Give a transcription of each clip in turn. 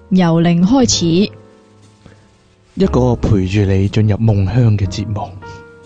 由零開始， 一個陪住你進入夢鄉嘅節目。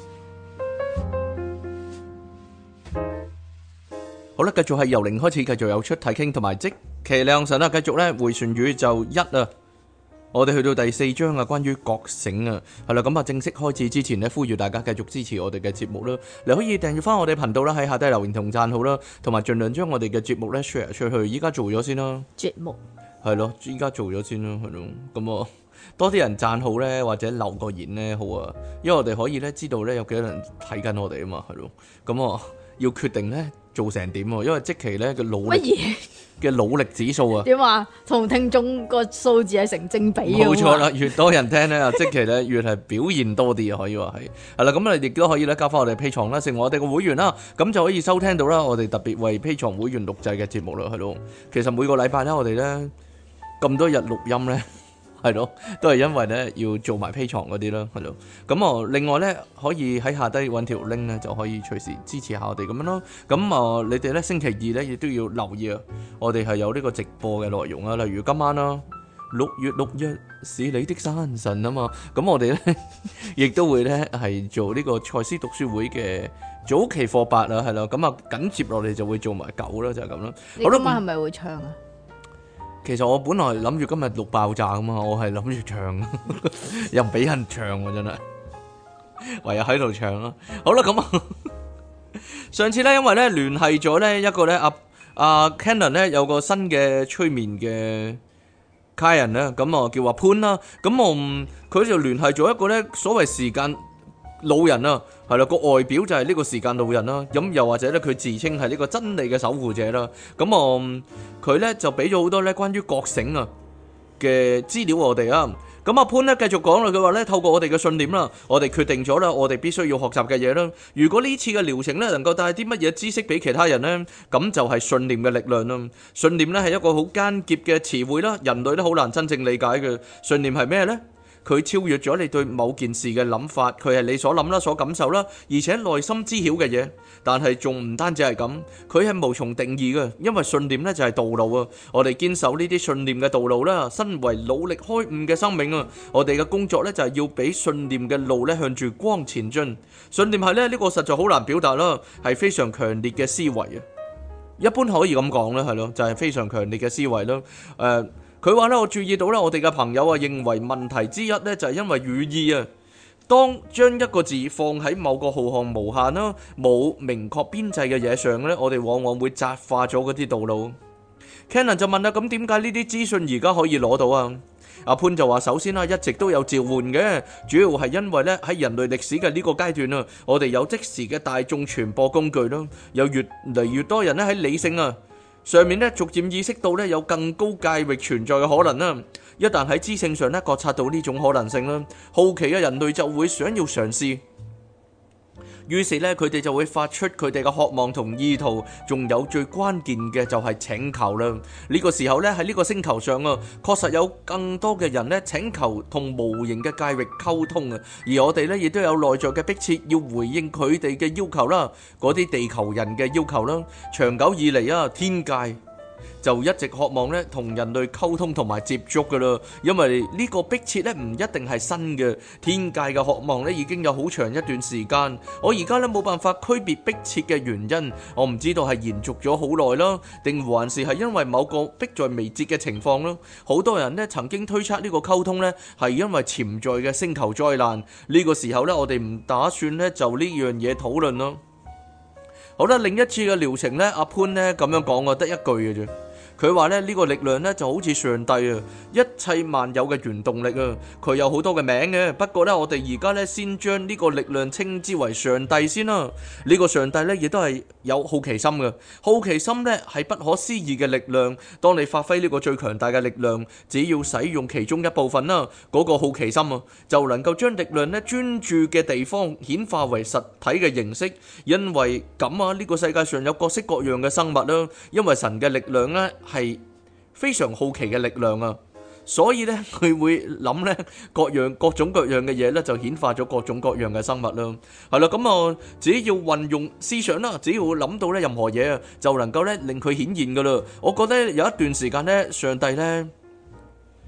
好啦，繼續係由零開始，繼續有出體傾同埋即其亮神啦。繼續咧迴旋宇宙一啊，我哋去到第4章啊，關於覺醒啊，係啦。咁啊，正式開始之前咧，呼籲大家繼續支持我哋嘅節目啦。你可以訂閱翻我哋頻道啦，喺下低留言同讚好啦，同埋盡量將我哋嘅節目咧 share 出去。依家做咗先啦， 節目係咯，依家做咗先啦，係咯。咁啊，多啲人讚好咧，或者留個言咧，好啊，因為我哋可以咧知道咧有幾多人睇緊我哋啊嘛，係咯。咁啊，要決定咧做成點喎，因為即期咧嘅努力指數啊， 點啊？同聽眾個數字係成正比嘅。 冇錯啦，越多人聽咧，即期咧越係表現多啲啊，可以話係啦。咁啊，亦都可以咧交翻我哋 Patreon啦，成為我哋嘅會員啦，咁就可以收聽到啦我哋特別為 Patreon 會員錄製嘅節目啦，係咯。其實每個禮拜咧，我哋咧咁多日錄音咧，係咯，都係因為咧要做埋 Patreon 嗰啲啦，係咯。咁啊，另外咧可以喺下低揾條 link 咧，就可以隨時支持下我哋咁樣咯。咁啊，你哋咧星期二咧亦都要留意啊，我哋係有呢個直播嘅內容啊，例如今晚啦，6月6日是你的生辰啊嘛。咁我哋咧亦都會咧係做呢個賽斯讀書會嘅早期課8啊，係啦。咁啊緊接落嚟就會做埋9啦，就係咁啦。 你今晚係咪會唱啊？ 其實我本來諗住今日錄爆炸噶嘛，我係諗住唱，又唔俾人唱喎，真係唯有喺度唱啦。好啦，咁啊，上次咧因為咧聯繫咗咧一個咧阿 Cannon 咧有個新嘅催眠嘅客人咧，咁啊叫阿潘啦，咁我佢就聯繫咗一個咧所謂時間老人啊，係啦，個外表就係呢個時間老人啦，咁又或者咧佢自稱係呢個真理嘅守護者啦，咁佢咧就俾咗好多咧關於覺醒啊嘅資料我哋啊，咁阿潘咧繼續講啦，佢話咧透過我哋嘅信念啦，我哋決定咗啦，我哋必須要學習嘅嘢啦，如果呢次嘅療程咧能夠帶啲乜嘢知識俾其他人咧，咁就係信念嘅力量啦。信念咧係一個好艱澀嘅詞彙啦，人類都好難真正理解嘅。信念係咩咧？佢超越咗你對某件事嘅諗法，佢係你所諗啦、所感受啦，而且內心知曉嘅嘢。但係仲唔單止係咁，佢係無從定義嘅，因為信念咧就係道路啊。我哋堅守呢啲信念嘅道路啦，身為努力開悟嘅生命啊，我哋嘅工作咧就係要俾信念嘅路咧向住光前進。信念係咧呢個實在好難表達啦，係非常強烈嘅思維啊。一般可以咁講啦，係咯，就係非常強烈嘅思維啦。佢話咧，我注意到咧，我哋嘅朋友啊，認為問題之一咧就係因為語義啊，當將一個字放喺某個浩瀚無限啦、冇明確邊際嘅嘢上咧，我哋往往會窄化咗嗰啲道路。Cannon 就問啦，咁點解呢啲資訊而家可以攞到啊？阿潘就話：首先啦，一直都有召喚嘅，主要係因為咧喺人類歷史嘅呢個階段啊，我哋有即時嘅大眾傳播工具啦，有越嚟越多人咧喺理性啊上面咧，逐漸意識到咧有更高界域存在嘅可能啦。一旦喺知性上咧覺察到呢種可能性啦，好奇嘅人類就會想要嘗試。於是咧，佢哋就會發出佢哋嘅渴望同意圖，仲有最關鍵嘅就係請求啦。呢個時候咧喺呢個星球上啊，確實有更多嘅人咧請求同無形嘅界域溝通啊，而我哋咧亦都有內在嘅迫切要回應佢哋嘅要求啦，嗰啲地球人嘅要求啦。長久以嚟啊，天界就一直渴望咧同人類溝通同埋接觸噶啦，因為呢個迫切咧唔一定係新嘅，天界嘅渴望咧已經有好長一段時間。我而家咧冇辦法區別迫切嘅原因，我唔知道係延續咗好耐啦，定還是係因為某個迫在眉睫嘅情況啦。好多人咧曾經推測呢個溝通咧係因為潛在嘅星球災難。呢個時候咧，我哋唔打算咧就呢樣嘢討論咯。好啦，另一次嘅療程咧，阿潘咧咁樣講，我得一句嘅啫。佢話咧呢個力量咧就好似上帝啊，一切萬有嘅原動力啊，佢有好多嘅名嘅。不過咧，我哋而家咧先將呢個力量稱之為上帝先啦。呢個上帝咧亦都係有好奇心嘅，好奇心咧係不可思議嘅力量。當你發揮呢個最強大嘅力量，只要使用其中一部分啦，嗰個好奇心啊，就能夠將力量咧專注嘅地方顯化為實體嘅形式。因為咁啊，呢個世界上有各式各樣嘅生物啦，因為神嘅力量咧係非常好奇嘅力量啊，所以咧佢會諗咧各種各樣嘅嘢咧，就顯化咗各種各樣嘅生物啦。係啦，咁啊，只要運用思想啦，只要諗到咧任何嘢啊，就能夠咧令佢顯現噶啦。我覺得有一段時間咧，上帝咧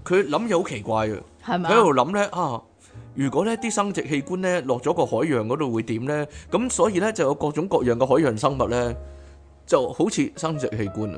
佢諗嘢好奇怪嘅， 係咪佢喺度諗咧啊，如果咧啲生殖器官咧落咗個海洋嗰度會點咧？咁所以咧就有各種各樣嘅海洋生物咧，就好似生殖器官啊！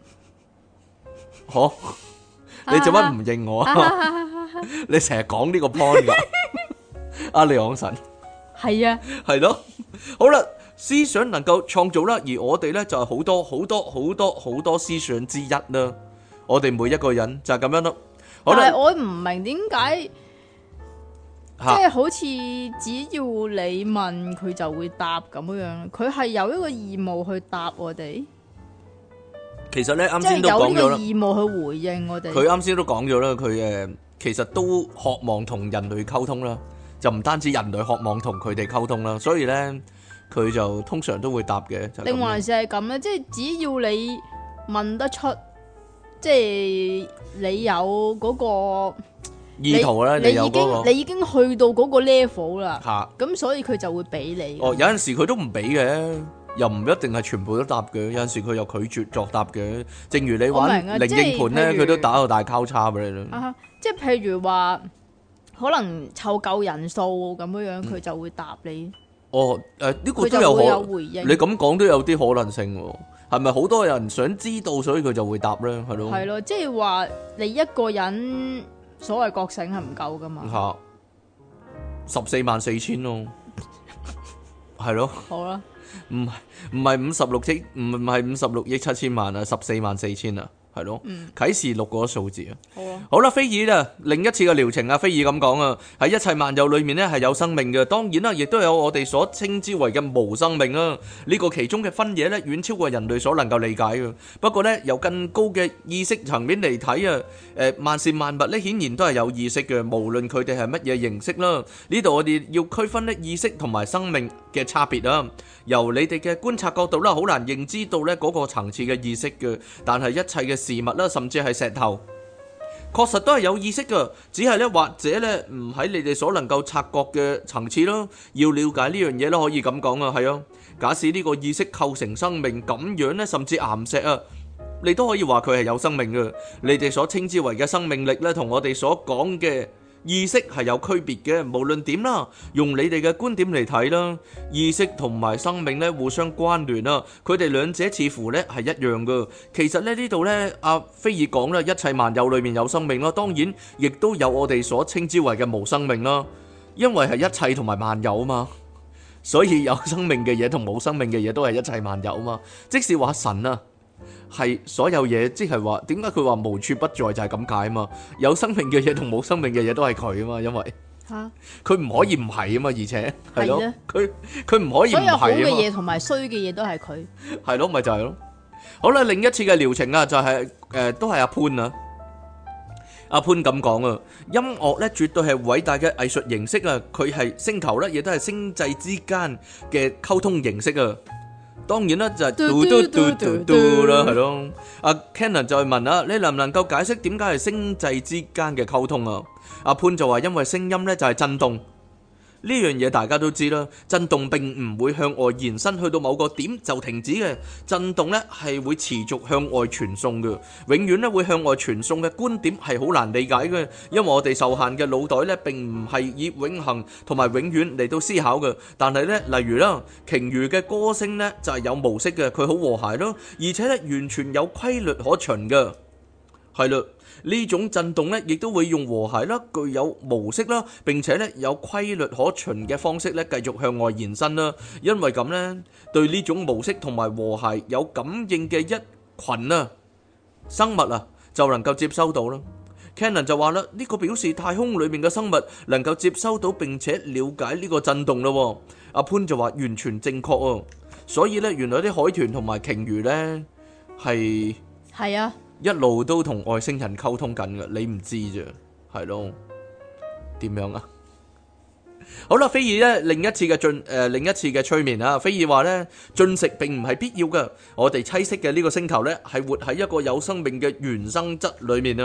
嗬，你做乜唔認我啊？你成日講呢個 point 噶，阿離岸神係啊， 係咯，好啦，思想能夠創造啦，而我哋咧就係好多好多好多好多思想之一啦。我哋每一個人就係咁樣咯。好啦， 但係我唔明點解，即係好似只要你問佢就會答咁樣，佢係有一個義務去答我哋， 其實咧啱即係先都有呢個講咗啦， 義務去回應我哋。 佢啱先都講咗啦，佢其實都渴望同人類溝通啦，就唔單止人類渴望同佢哋溝通啦，所以咧佢就通常都會答嘅。就係咁定還是係咁咧？即係只要你問得出，即係你有嗰個意圖咧，你有嗰個你已經去到嗰個 level 啦， 嚇。 咁所以佢就會俾你。 哦，有陣時佢都唔俾嘅，又唔一定係全部都答嘅。有陣時佢又拒絕作答嘅。正如你玩我明啊靈應盤咧， 即係譬如佢都打個大交叉俾你啦。 啊，即係譬如話，可能湊夠人數咁樣，佢就會答你， 哦，呢個佢都有就會有可， 回應。 你咁講都有啲可能性喎。係咪好多人想知道，所以佢就會答咧？係咯， 係咯，即係話你一個人所謂覺醒係唔夠噶嘛？ 嚇144000咯，係咯， 好啦， 唔係56億，唔係56億7千萬啊，144000啊，係咯，啟示錄嗰個數字啊。 好啊， 好啦，菲爾啊，另一次嘅療程啊，菲爾咁講啊，喺一切萬有裏面咧係有生命嘅，當然啦，亦都有我哋所稱之為嘅無生命啊。呢個其中嘅分野咧，遠超過人類所能夠理解嘅。不過咧，由更高嘅意識層面嚟睇啊，萬事萬物咧，顯然都係有意識嘅，無論佢哋係乜嘢形式啦。呢度我哋要區分咧意識同埋生命嘅差別啊。由你哋嘅觀察角度啦，好難認知到咧嗰個層次嘅意識嘅，但係一切嘅事物啦，甚至係石頭，確實都係有意識嘅，只係咧或者咧唔喺你哋所能夠察覺嘅層次咯。要了解呢樣嘢咧，可以咁講啊，係啊。假使呢個意識構成生命咁樣咧，甚至岩石啊，你都可以話佢係有生命嘅。你哋所稱之為嘅生命力咧，同我哋所講嘅意識係有區別嘅。無論點啦，用你哋嘅觀點嚟睇啦，意識同埋生命咧互相關聯啊，佢哋兩者似乎咧係一樣嘅。其實咧呢度咧，阿菲爾講啦，一切萬有裏面有生命啦，當然亦都有我哋所稱之為嘅無生命啦，因為係一切同埋萬有啊嘛，所以有生命嘅嘢同冇生命嘅嘢都係一切萬有啊嘛。即使話神啊係所有嘢，即係話點解佢話無處不在就係咁解啊嘛。有生命嘅嘢同冇生命嘅嘢都係佢啊嘛，因為嚇， 佢唔可以唔係啊嘛，而且係咯係咧， 佢唔可以唔所有好嘅係啊嘛， 嘢同埋衰嘅嘢都係佢。 係咯，咪就係咯。好啦，另一次嘅療程啊，就係都係阿潘啊。阿潘咁講啊，音樂咧絕對係偉大嘅藝術形式啊，佢係星球咧，亦都係星際之間嘅溝通形式啊。當然啦，就係嘟嘟嘟嘟嘟啦，係咯。阿 Cannon 就係問啊，你能唔能夠解釋點解係星際之間嘅溝通啊？阿潘就話因為聲音咧就係震動。呢樣嘢大家都知啦，震動並唔會向外延伸去到某個點就停止嘅，震動咧係會持續向外傳送嘅，永遠咧會向外傳送嘅觀點係好難理解嘅，因為我哋受限嘅腦袋咧並唔係以永恆同埋永遠嚟到思考嘅。但係咧，例如啦，鯨魚嘅歌聲咧就係有模式嘅，佢好和諧咯，而且咧完全有規律可循嘅，係啦。呢種震動咧，亦都會用和諧啦、具有模式啦，並且咧有規律可循嘅方式咧，繼續向外延伸啦。因為咁咧，對呢種模式同埋和諧有感應嘅一群啊生物啊，就能夠接收到啦。Cannon 就話啦，呢個表示太空裏面嘅生物能夠接收到並且了解呢個震動咯。阿潘就話完全正確哦。所以咧，原來啲海豚同埋鯨魚咧係啊。 一路都同外星人溝通緊嘅，你唔知啫，係咯？點樣啊？好啦，菲爾咧另一次嘅催眠啊，菲爾話咧進食並唔係必要嘅，我哋棲息嘅呢個星球咧係活喺一個有生命嘅原生質裏面啊。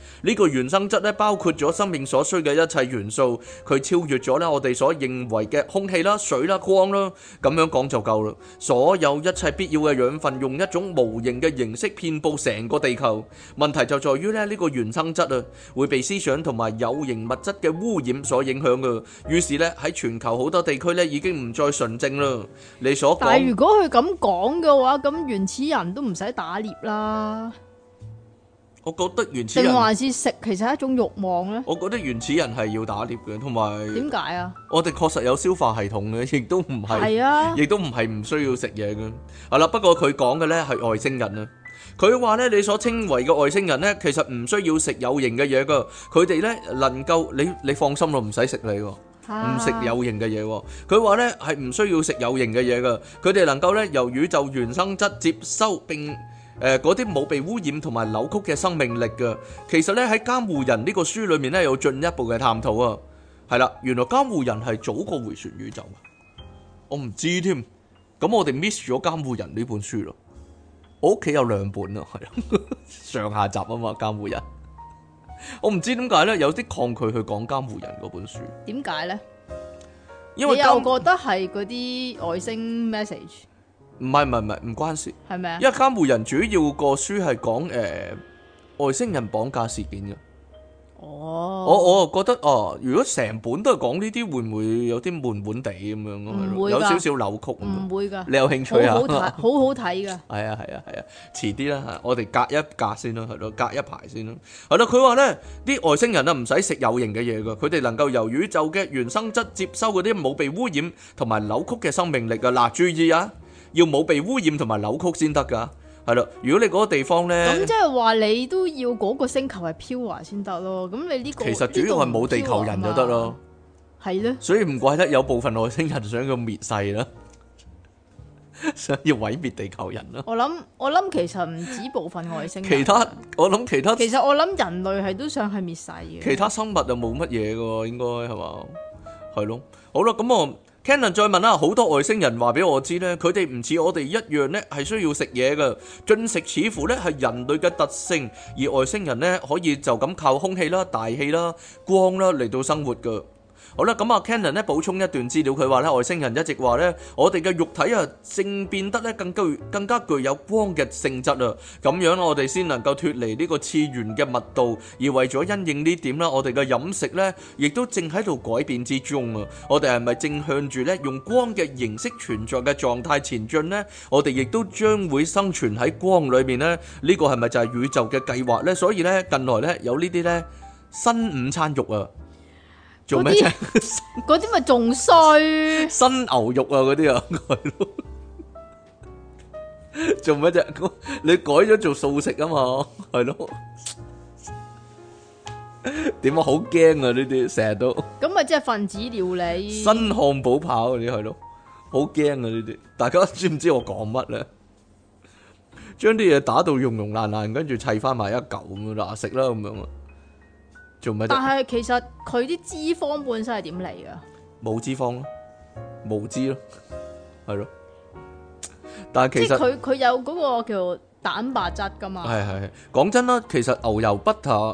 呢個原生質咧包括咗生命所需嘅一切元素，佢超越咗咧我哋所認為嘅空氣啦、水啦、光啦，咁樣講就夠啦。所有一切必要嘅養分用一種無形嘅形式遍佈成個地球。問題就在於咧呢個原生質啊會被思想同埋有形物質嘅污染所影響嘅，於是咧喺全球好多地區咧已經唔再純正啦。你所講， 但係如果佢咁講嘅話，咁原始人都唔使打獵啦。 我覺得原始人定還是食其實係一種慾望咧？ 我覺得原始人係要打獵嘅，同埋點解啊？ 我哋確實有消化系統嘅，亦都唔係， 係啊， 亦都唔係唔需要食嘢嘅。係啦，不過佢講嘅咧係外星人啊。佢話咧，你所稱為嘅外星人咧，其實唔需要食有形嘅嘢噶。佢哋咧能夠，你放心咯，唔使食你喎，唔食有形嘅嘢喎。佢話咧係唔需要食有形嘅嘢噶。佢哋能夠咧由宇宙原生質接收並嗰啲冇被污染同埋扭曲嘅生命力嘅，其實咧喺監護人呢個書裏面咧有進一步嘅探討啊。係啦，原來監護人係早過迴旋宇宙啊！我唔知添，咁我哋 miss 咗監護人呢本書咯。我屋企有2本啊，係啊，上下集啊嘛，監護人。我唔知點解咧，有啲抗拒去講監護人嗰本書。 點解咧？ 因為你又覺得係嗰啲外星 message？ 唔係，唔關事， 係咪啊？ 因為監護人主要個書係講外星人綁架事件嘅。 哦， 我覺得如果成本都係講呢啲，會唔會有啲悶悶地咁樣咯？ 唔會㗎， 有少少扭曲。 唔會㗎。 你有興趣啊？ 好好睇㗎。 係啊，遲啲啦，我哋隔一隔先啦，係咯，隔一排先啦。係咯，佢話咧，啲外星人啊唔使食有形嘅嘢㗎，佢哋能夠由宇宙嘅原生質接收嗰啲冇被污染同埋扭曲嘅生命力啊！嗱，注意啊，要冇被污染同埋扭曲先得㗎。係咯，如果你嗰個地方咧， 咁即係話你都要嗰個星球係 pure 先得咯。咁你呢個其實主要係冇地球人就得咯。 係咧， 所以唔怪得有部分外星人想要滅世啦，想要毀滅地球人啦。 我諗其實唔止部分外星人。 其實我諗人類係都想係滅世嘅。 其他生物就冇乜嘢㗎，應該係嘛？係咯，好啦，咁我。Cannon 再問啦，好多外星人話俾我知咧，佢哋唔似我哋一樣咧，係需要食嘢嘅，進食似乎咧係人類嘅特性，而外星人咧可以就咁靠空氣啦、大氣啦、光啦嚟到生活㗎。好啦，咁啊 Cannon 咧補充一段資料，佢話咧外星人一直話咧，我哋嘅肉體啊正變得咧更加具有光嘅性質啊，咁樣我哋先能夠脫離呢個次元嘅密度，而為咗因應呢點啦，我哋嘅飲食咧亦都正喺度改變之中啊！我哋係咪正向住咧用光嘅形式存在嘅狀態前進呢？我哋亦都將會生存喺光裏面呢？呢個係咪就係宇宙嘅計劃呢？所以咧近來咧有呢啲咧新午餐肉啊！做咩啫？ 嗰啲咪仲衰？ 新牛肉啊，嗰啲啊，係咯。做咩啫？你改咗做素食啊嘛，係咯。點啊？好驚啊！呢啲成日都。 咁咪即係分子料理。 新漢堡扒嗰啲係咯，好驚啊！呢啲，大家知唔知我講乜咧？將啲嘢打到溶溶爛爛，跟住砌翻埋一嚿咁樣啦，食啦咁樣啊。但係其實佢啲脂肪本身係點嚟噶？ 冇脂肪咯，無脂咯，係咯。但係其實佢有嗰個叫蛋白質噶嘛？ 係。講真啦，其實牛油 butter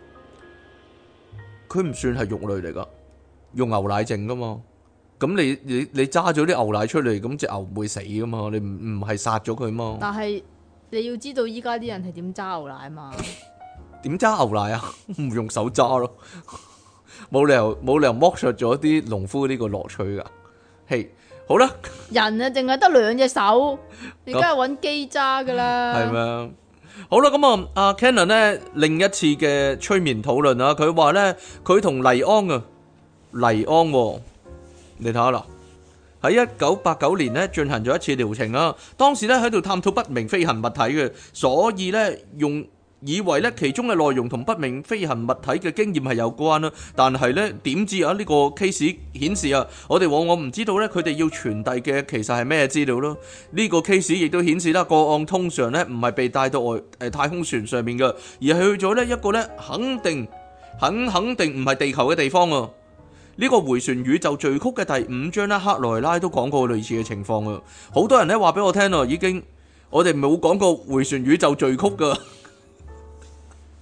佢唔算係肉類嚟噶，用牛奶整噶嘛。咁你揸咗啲牛奶出嚟，咁隻牛唔會死噶嘛？你唔係殺咗佢嘛？ 但係你要知道依家啲人係點揸牛奶嘛？ 點揸牛奶啊？唔用手揸咯，冇理由剝削咗啲農夫呢個樂趣噶。嘿，好啦， 人啊淨係得2隻手，你梗係揾機揸噶啦。 係咩？好啦，咁啊，阿 Cannon 咧另一次嘅催眠討論啊，佢話咧佢同黎安，你睇下啦，喺1989年咧進行咗一次療程啊，當時咧喺度探討不明飛行物體嘅，所以咧以為咧其中嘅內容同不明飛行物體嘅經驗係有關啦，但係咧點知啊呢個 case 顯示啊，我哋往往唔知道咧佢哋要傳遞嘅其實係咩資料咯。呢個 case 亦都顯示啦，個案通常咧唔係被帶到太空船上面嘅，而係去咗咧一個咧肯定唔係地球嘅地方啊。呢個迴旋宇宙序曲嘅第5章咧，克萊拉都講過類似嘅情況啊。好多人咧話俾我聽啊，我哋冇講過迴旋宇宙序曲噶。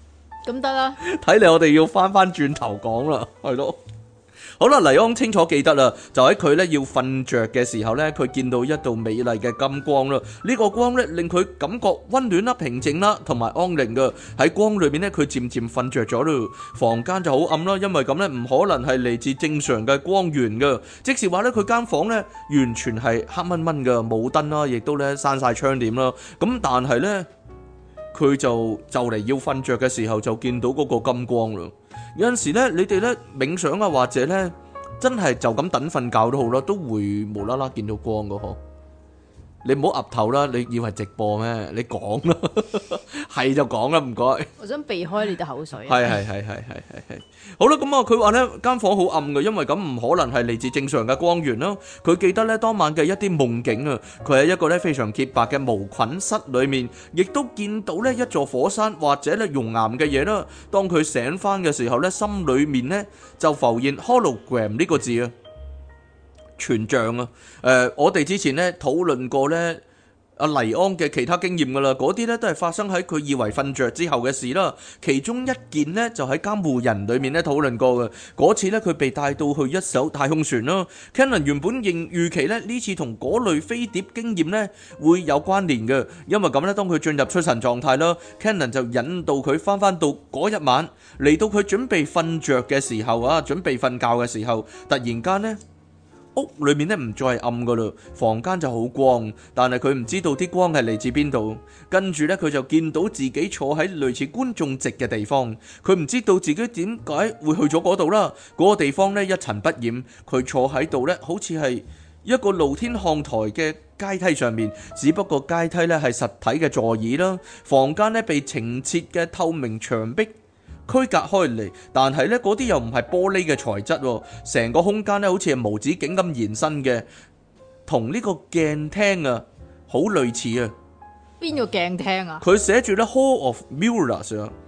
咁得啦。 睇嚟我哋要翻轉頭講啦，係咯。好啦，黎安清楚記得啦，就喺佢咧要瞓着嘅時候咧，佢見到一道美麗嘅金光啦。呢個光咧令佢感覺溫暖啦、平靜啦，同埋安寧噶。喺光裏面咧，佢漸漸瞓着咗咯。房間就好暗啦，因為咁咧唔可能係嚟自正常嘅光源噶。即是話咧，佢間房咧完全係黑蚊蚊噶，冇燈啦，亦都咧閂晒窗簾啦。咁但係咧，佢就嚟要瞓着嘅時候，就見到嗰個金光啦。有陣時咧，你哋咧冥想啊，或者咧真係就咁等瞓覺都好啦，都會無啦啦見到光噶嗬。你唔好岌頭啦，你以為直播咩？你講啦，係就講啦，唔該。 我想避開你啲口水。 係。好啦，咁啊，佢話呢間房好暗嘅，因為咁唔可能係嚟自正常嘅光源啦。佢記得呢當晚嘅一啲夢境啊，佢喺一個呢非常潔白嘅無菌室裏面，亦都見到呢一座火山或者呢熔岩嘅嘢啦。當佢醒翻嘅時候呢，心裏面呢就浮現 hologram 呢個字啊。全像啊！我哋之前咧討論過咧阿黎安嘅其他經驗噶啦，嗰啲咧都係發生喺佢以為瞓着之後嘅事啦。其中一件呢，就喺監護人裏面咧討論過嘅。嗰次咧佢被帶到去一艘太空船啦。Cannon 原本預期咧呢次同嗰類飛碟經驗咧會有關聯嘅，因為咁咧當佢進入出神狀態啦，Cannon 就引導佢翻到嗰一晚，嚟到佢準備瞓着嘅時候啊，準備瞓覺嘅時候，突然間呢。屋裏面咧唔再係暗噶啦，房間就好光，但係佢唔知道啲光係嚟自邊度。跟住咧，佢就見到自己坐喺類似觀眾席嘅地方，佢唔知道自己點解會去咗嗰度啦。嗰個地方咧一塵不染，佢坐喺度咧好似係一個露天看台嘅階梯上面，只不過階梯咧係實體嘅座椅啦。房間咧被澄澈嘅透明牆壁區隔開嚟，但係咧嗰啲又唔係玻璃嘅材質，成個空間咧好似係無止境咁延伸嘅，同呢個鏡廳啊好類似啊。 邊個鏡廳啊？ 佢寫住咧 Hall of Mirrors 啊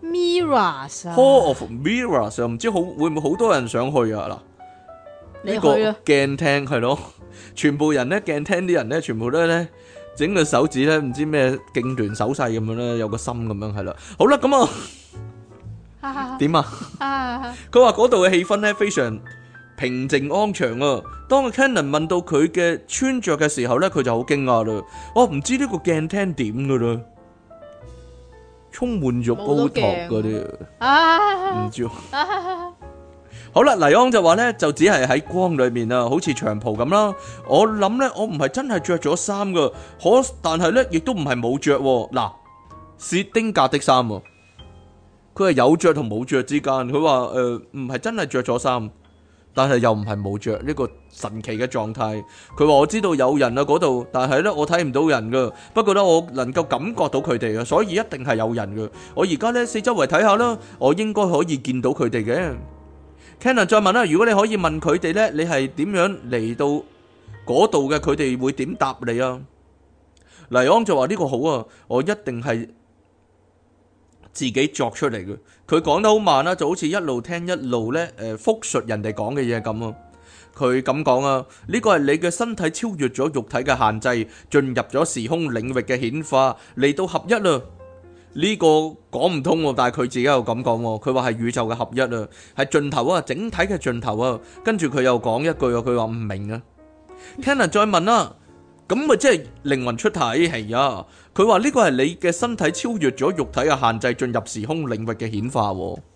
，Mirrors 啊 ，Hall of Mirrors 唔知會唔會好多人想去啊？嗱，呢個鏡廳係咯，全部人咧鏡廳啲人咧，全部都咧整個手指咧唔知咩痙攣手勢咁樣咧，有個心咁樣係啦。好啦，咁啊。點啊？佢話嗰度嘅氣氛咧非常平靜安詳啊。當 Cannon 問到佢嘅穿着嘅時候咧，佢就好驚訝啦。我唔知呢個鏡廳點噶啦，充滿咗 Botox 嗰啲，唔知。好啦，黎安就話咧，就只係喺光裏面啊，好似長袍咁啦。我諗咧，我唔係真係着咗衫噶，但係咧亦都唔係冇着。嗱，薛丁格的衫啊。佢係有着同冇着之間，佢話唔係真係着咗衫，但係又唔係冇着，呢個神奇嘅狀態。佢話我知道有人啊嗰度，但係咧我睇唔到人噶，不過咧我能夠感覺到佢哋啊，所以一定係有人噶。我而家咧四周圍睇下啦，我應該可以見到佢哋嘅。Cannon 再問啦，如果你可以問佢哋咧，你係點樣嚟到嗰度嘅？佢哋會點答你啊？黎安就話呢個好啊，我一定係自己作出嚟嘅。佢講得好慢啦，就好似一路聽一路咧複述人哋講嘅嘢咁啊。佢咁講啊，呢個係你嘅身體超越咗肉體嘅限制，進入咗時空領域嘅顯化，嚟到合一啦。呢個講唔通喎，但係佢自己又咁講喎。佢話係宇宙嘅合一啊，係盡頭啊，整體嘅盡頭啊。跟住佢又講一句啊，佢話唔明啊。Cannon 再問啦，咁咪即係靈魂出體係啊？佢話呢個係你嘅身體超越咗肉體嘅限制，進入時空領域嘅顯化。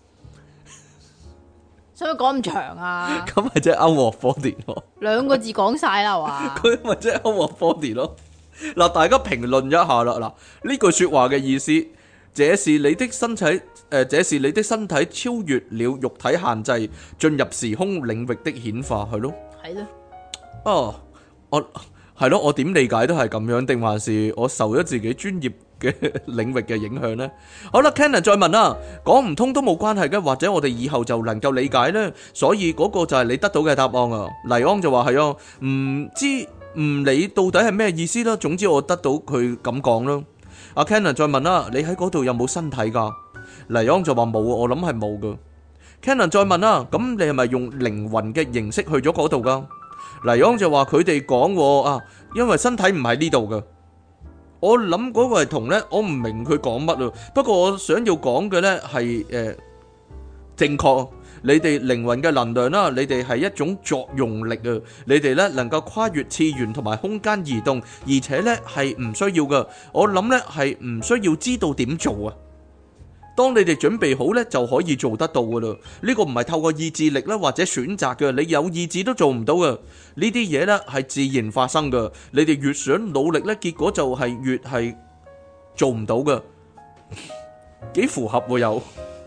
使唔使講咁長啊？ 咁咪即係 out of body 咯。 兩個字講晒啦，係嘛？ 佢咪即係 out of body 咯。嗱，大家評論一下啦。嗱，呢句說話嘅意思，這是你的身體，這是你的身體超越了肉體限制，進入時空領域的顯化，係咯。係咯。哦，我係咯，我點理解都係咁樣，定還是我受咗自己專業嘅領域嘅影響呢？好啦 ，Cannon 再問啦，講唔通都冇關係嘅，或者我哋以後就能夠理解呢？所以嗰個就係你得到嘅答案啊。黎安就話係啊，唔知唔理到底係咩意思啦。總之我得到佢咁講啦。阿 Cannon 再問啦，你喺嗰度有冇身體噶？黎安就話冇，我諗係冇噶。Cannon 再問啦，咁你係咪用靈魂嘅形式去咗嗰度噶？黎安就話佢哋講啊，因為身體唔喺呢度噶。 我諗嗰個係同咧，我唔明佢講乜啊。不過我想要講嘅咧係正確。你哋靈魂嘅能量啦，你哋係一種作用力啊！你哋咧能夠跨越次元同埋空間移動，而且咧係唔需要噶。我諗咧係唔需要知道點做啊。當你哋準備好咧，就可以做得到噶啦。呢個唔係透過意志力啦，或者選擇嘅，你有意志都做唔到噶。呢啲嘢咧係自然發生噶。你哋越想努力咧，結果就係越係做唔到噶。幾符合喎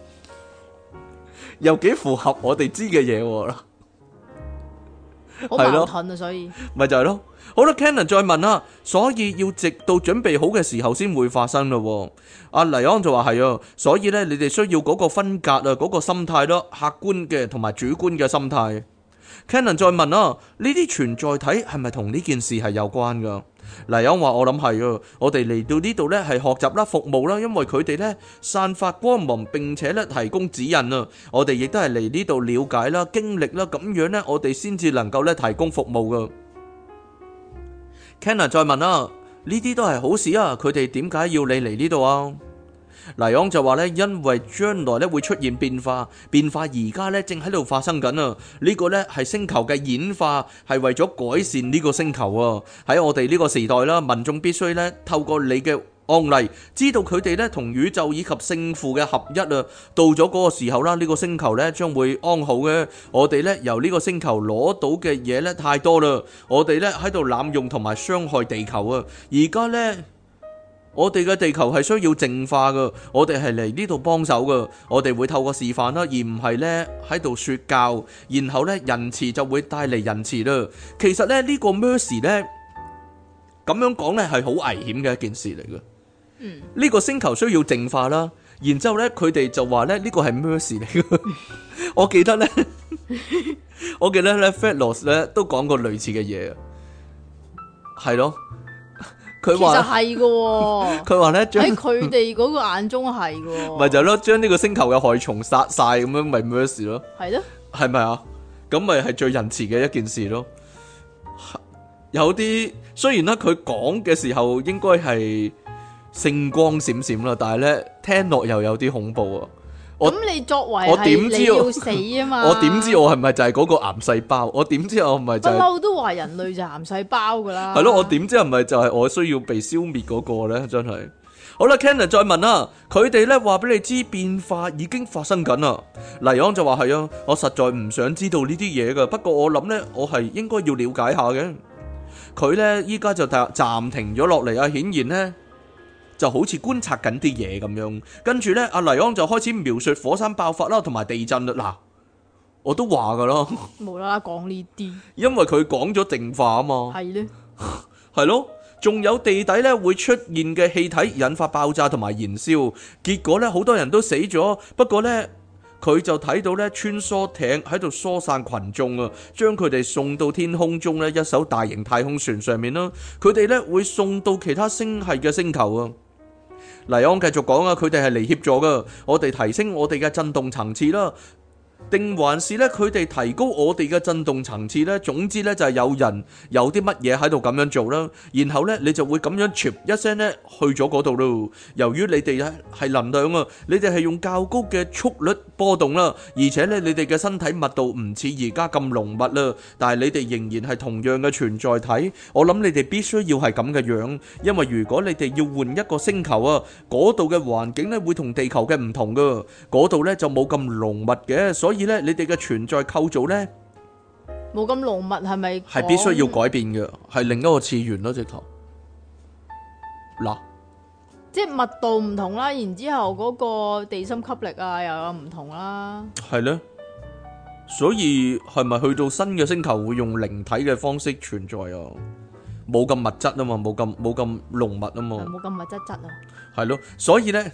又幾符合我哋知嘅嘢喎， 好矛盾啊，所以咪就係咯。好啦 Cannon 再問啦，所以要直到準備好嘅時候先會發生咯。阿黎安就話係啊，所以咧你哋需要嗰個分隔啊，嗰個心態咯，客觀嘅同埋主觀嘅心態。Cannon 再問啦，呢啲存在體係咪同呢件事係有關噶？黎安話我諗係啊，我哋嚟到呢度咧係學習啦、服務啦，因為佢哋咧散發光芒，並且咧提供指引啊。我哋亦都係嚟呢度了解啦、經歷啦，咁樣咧我哋先至能夠咧提供服務噶。Cannon 再問啦，呢啲都係好事啊，佢哋點解要你嚟呢度啊？黎昂就話咧，因為將來咧會出現變化，變化而家咧正喺度發生緊啊！呢個咧係星球嘅演化，係為咗改善呢個星球啊！喺我哋呢個時代啦，民眾必須咧透過你嘅案例，知道佢哋咧同宇宙以及聖父嘅合一啊！到咗嗰個時候啦，呢個星球咧將會安好嘅。我哋咧由呢個星球攞到嘅嘢咧太多啦，我哋咧喺度濫用同埋傷害地球啊！而家咧。我哋嘅地球係需要淨化噶，我哋係嚟呢度幫手噶，我哋會透過示範啦，而唔係呢喺度說教，然後呢仁慈就會帶嚟仁慈啦。其實呢呢個 mercy 呢咁樣講呢係好危險嘅一件事嚟嘅。呢個星球需要淨化啦，然之後呢佢哋就話呢呢個係 mercy 嚟嘅。我記得呢 Fedlos 呢都講過類似嘅嘢，係咯。佢話其實係嘅， 佢話咧喺佢哋嗰個眼中係嘅， 咪就係咯，將呢個星球嘅害蟲殺晒咁樣，咪 mercy 咯， 係咯， 係咪啊？咁咪係最仁慈嘅一件事咯。有啲雖然咧，佢講嘅時候應該係聖光閃閃啦，但係咧聽落又有啲恐怖啊！ 咁你作為係你要死啊嘛？ 我點知我係咪就係嗰個癌細胞？我點知我唔係就係？ 不嬲都話人類就癌細胞噶啦。 係咯，我點知係咪就係我需要被消滅嗰個咧？真係。好啦 Cannon 再問啦，佢哋咧話俾你知變化已經發生緊啦。黎昂就話係啊，我實在唔想知道呢啲嘢噶，不過我諗咧，我係應該要了解下嘅。佢咧依家就暫停咗落嚟啊，顯然咧。就好似觀察緊啲嘢咁樣，跟住呢，阿黎安就開始描述火山爆發啦，同埋地震啦。嗱，我都話噶咯， 無啦啦講呢啲， 因為佢講咗淨化啊嘛， 係咧， 係咯，仲有地底呢會出現嘅氣體引發爆炸同埋燃燒，結果呢好多人都死咗。不過呢，佢就睇到呢穿梭艇喺度疏散群眾啊，將佢哋送到天空中呢一艘大型太空船上面啦。佢哋呢會送到其他星系嘅星球啊。黎安繼續講啊，佢哋係嚟協助噶，我哋提升我哋嘅震動層次啦，定還是咧佢哋提高我哋嘅震動層次呢？總之呢，就係有人有啲乜嘢喺度咁樣做啦，然後呢，你就會咁樣唰一聲呢去咗嗰度咯。由於你哋係能量啊，你哋係用較高嘅速率波動啦，而且呢，你哋嘅身體密度唔似而家咁濃密啦，但係你哋仍然係同樣嘅存在體。我諗你哋必須要係咁嘅樣，因為如果你哋要換一個星球啊，嗰度嘅環境呢會同地球嘅唔同噶，嗰度呢就冇咁濃密嘅，所以咧，你哋嘅存在構造咧冇咁濃密，係咪？ 係必須要改變嘅，係另一個次元咯，直頭嗱， 即係密度唔同啦，然之後嗰個地心吸力啊又有唔同啦， 係咧，所以係咪去到新嘅星球會用靈體嘅方式存在啊？冇咁物質啊嘛，冇咁濃密啊嘛， 冇咁物質啊， 係咯，所以咧。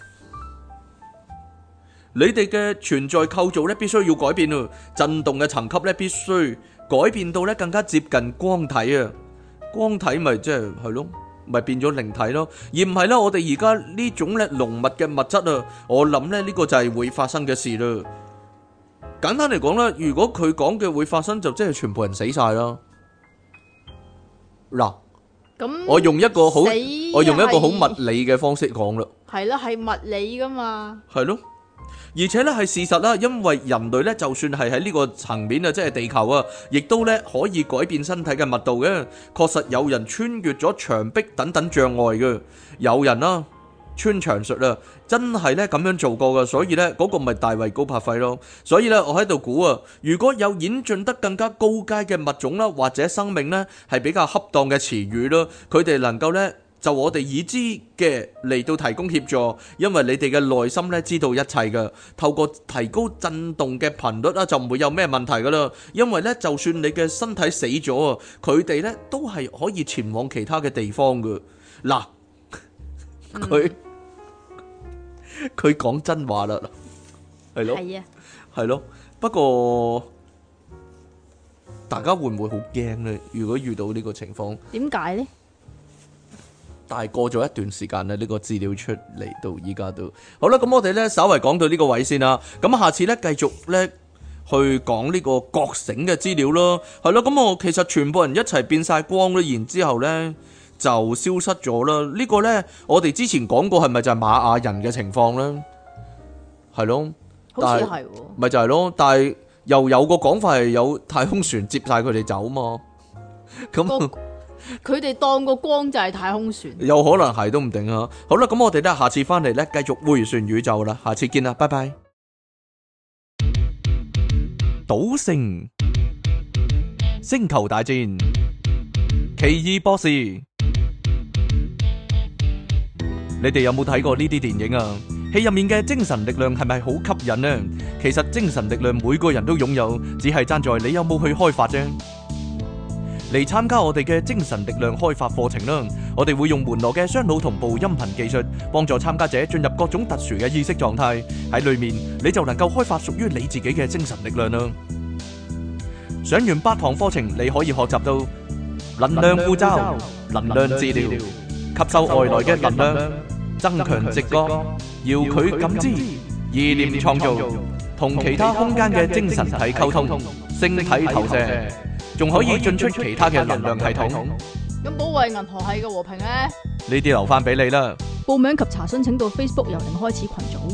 你哋嘅存在構造咧，必須要改變啊！震動嘅層級咧，必須改變到咧更加接近光體啊！光體咪即係咯，咪變咗靈體咯，而唔係咧我哋而家呢種咧濃密嘅物質啊！我諗咧呢個就係會發生嘅事啦。簡單嚟講啦，如果佢講嘅會發生，就即係全部人死晒啦。嗱， 咁我用一個好死我用一個好係物理嘅方式講啦， 係啦，係物理噶嘛。 係咯。而且咧係事實啦，因為人類咧就算係喺呢個層面啊，即係地球啊，亦都咧可以改變身體嘅密度嘅。確實有人穿越咗牆壁等等障礙嘅，有人啦穿牆術啊，真係咧咁樣做過嘅，所以咧嗰個咪大衛高柏輝咯。所以咧我喺度估啊，如果有演進得更加高階嘅物種啦，或者生命咧係比較恰當嘅詞語咯，佢哋能夠咧就我哋已知嘅嚟到提供協助，因為你哋嘅內心咧知道一切嘅，透過提高震動嘅頻率啦，就唔會有咩問題噶啦。因為咧，就算你嘅身體死咗啊，佢哋咧都係可以前往其他嘅地方嘅。嗱，佢講真話啦，係咯， 係啊， 係咯。不過大家會唔會好驚呢？如果遇到呢個情況？ 點解呢？ 但係過咗一段時間咧，呢個資料出嚟到依家都好啦。咁我哋咧稍為講到呢個位先啦。咁下次咧繼續咧去講呢個覺醒嘅資料咯。係咯，咁我其實全部人一齊變晒光啦，然之後咧就消失咗啦。呢個咧我哋之前講過係咪就係瑪雅人嘅情況咧？係咯， 好似係喎。 咪就係咯，但係又有個講法係有太空船接晒佢哋走嘛。咁佢哋當個光就係太空船， 有可能係都唔定啊！好啦，咁我哋咧下次翻嚟咧繼續迴旋宇宙啦，下次見啦，拜拜。賭聖、星球大戰、奇異博士，你哋有冇睇過呢啲電影啊？戲入面嘅精神力量係咪好吸引呢？其實精神力量每個人都擁有，只係爭在你有冇去開發啫。嚟參加我哋嘅精神力量開發課程啦！我哋會用門羅嘅雙腦同步音頻技術，幫助參加者進入各種特殊嘅意識狀態。喺裏面你就能夠開發屬於你自己嘅精神力量啦！上完8堂課程，你可以學習到能量護罩、能量治療、吸收外來嘅能量、增強直覺、遙距感知、意念創造、同其他空間嘅精神體溝通、星體投射。仲可以進出其他嘅能量系統。 咁保衛銀河系嘅和平咧？ 呢啲留翻俾你啦。 報名及查詢請到 Facebook 由零開始群組。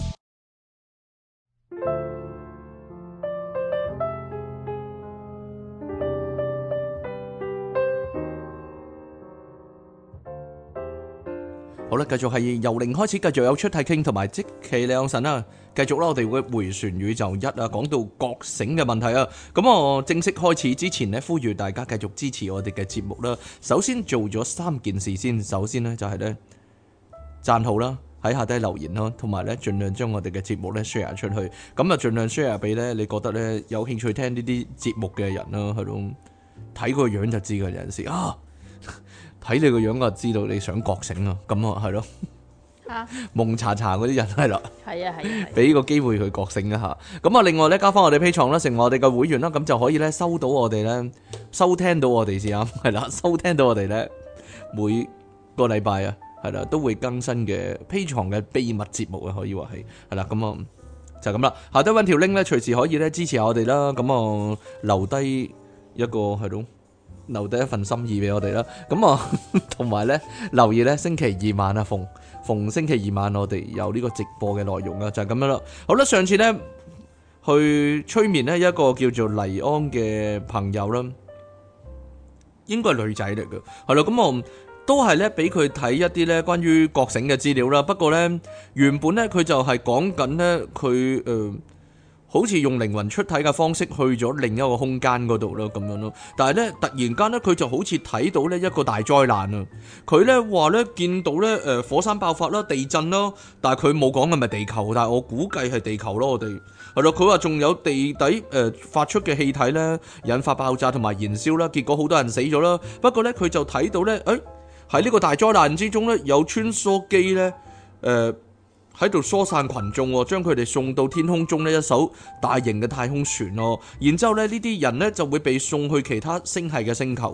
好啦，繼續係由零開始，繼續有出體傾同埋即其兩神啦。繼續啦，我哋會迴旋宇宙一啊，講到覺醒嘅問題啊。咁我正式開始之前呢，呼籲大家繼續支持我哋嘅節目啦。首先做咗3件事先，首先呢，就係呢讚好啦，喺下低留言啦，同埋呢盡量將我哋嘅節目呢 share 出去。咁啊盡量 share 俾呢你覺得呢有興趣聽呢啲節目嘅人啦，係咯，睇個樣就知㗎，有陣時啊。睇你個樣就知道你想覺醒啊，咁啊係咯，蒙查查嗰啲人係啦， 係啊， 俾個機會佢覺醒一下。咁啊，另外咧加翻我哋 Patreon啦，成為我哋嘅會員啦，咁就可以咧收到我哋咧收聽到我哋先啱，係啦，收聽到我哋咧每個禮拜啊，係啦都會更新嘅 Patreon嘅秘密節目啊，可以話係啦，咁啊就咁啦。下低搵條 link 咧，隨時可以咧支持下我哋啦。咁啊留低一個係咯。留低一份心意俾我哋啦，咁啊，同埋咧留意咧星期2晚啊，逢星期2晚我哋有呢個直播嘅內容啊，就係咁樣啦。好啦，上次咧去催眠咧一個叫做黎安嘅朋友啦，應該係女仔嚟嘅，係啦，咁我都係咧俾佢睇一啲咧關於覺醒嘅資料啦。不過咧原本咧佢就係講緊咧佢好似用靈魂出體嘅方式去咗另一個空間嗰度咯，咁樣咯。但係咧，突然間咧，佢就好似睇到咧一個大災難啊！佢咧話咧見到咧火山爆發啦、地震啦，但係佢冇講係咪地球，但係我估計係地球咯。我哋係咯，佢話仲有地底發出嘅氣體咧引發爆炸同埋燃燒啦，結果好多人死咗啦。不過咧，佢就睇到咧，喺呢個大災難之中咧，有穿梭機咧喺度疏散群眾，將佢哋送到天空中呢一艘大型嘅太空船咯。然之後咧，呢啲人咧就會被送去其他星系嘅星球啊。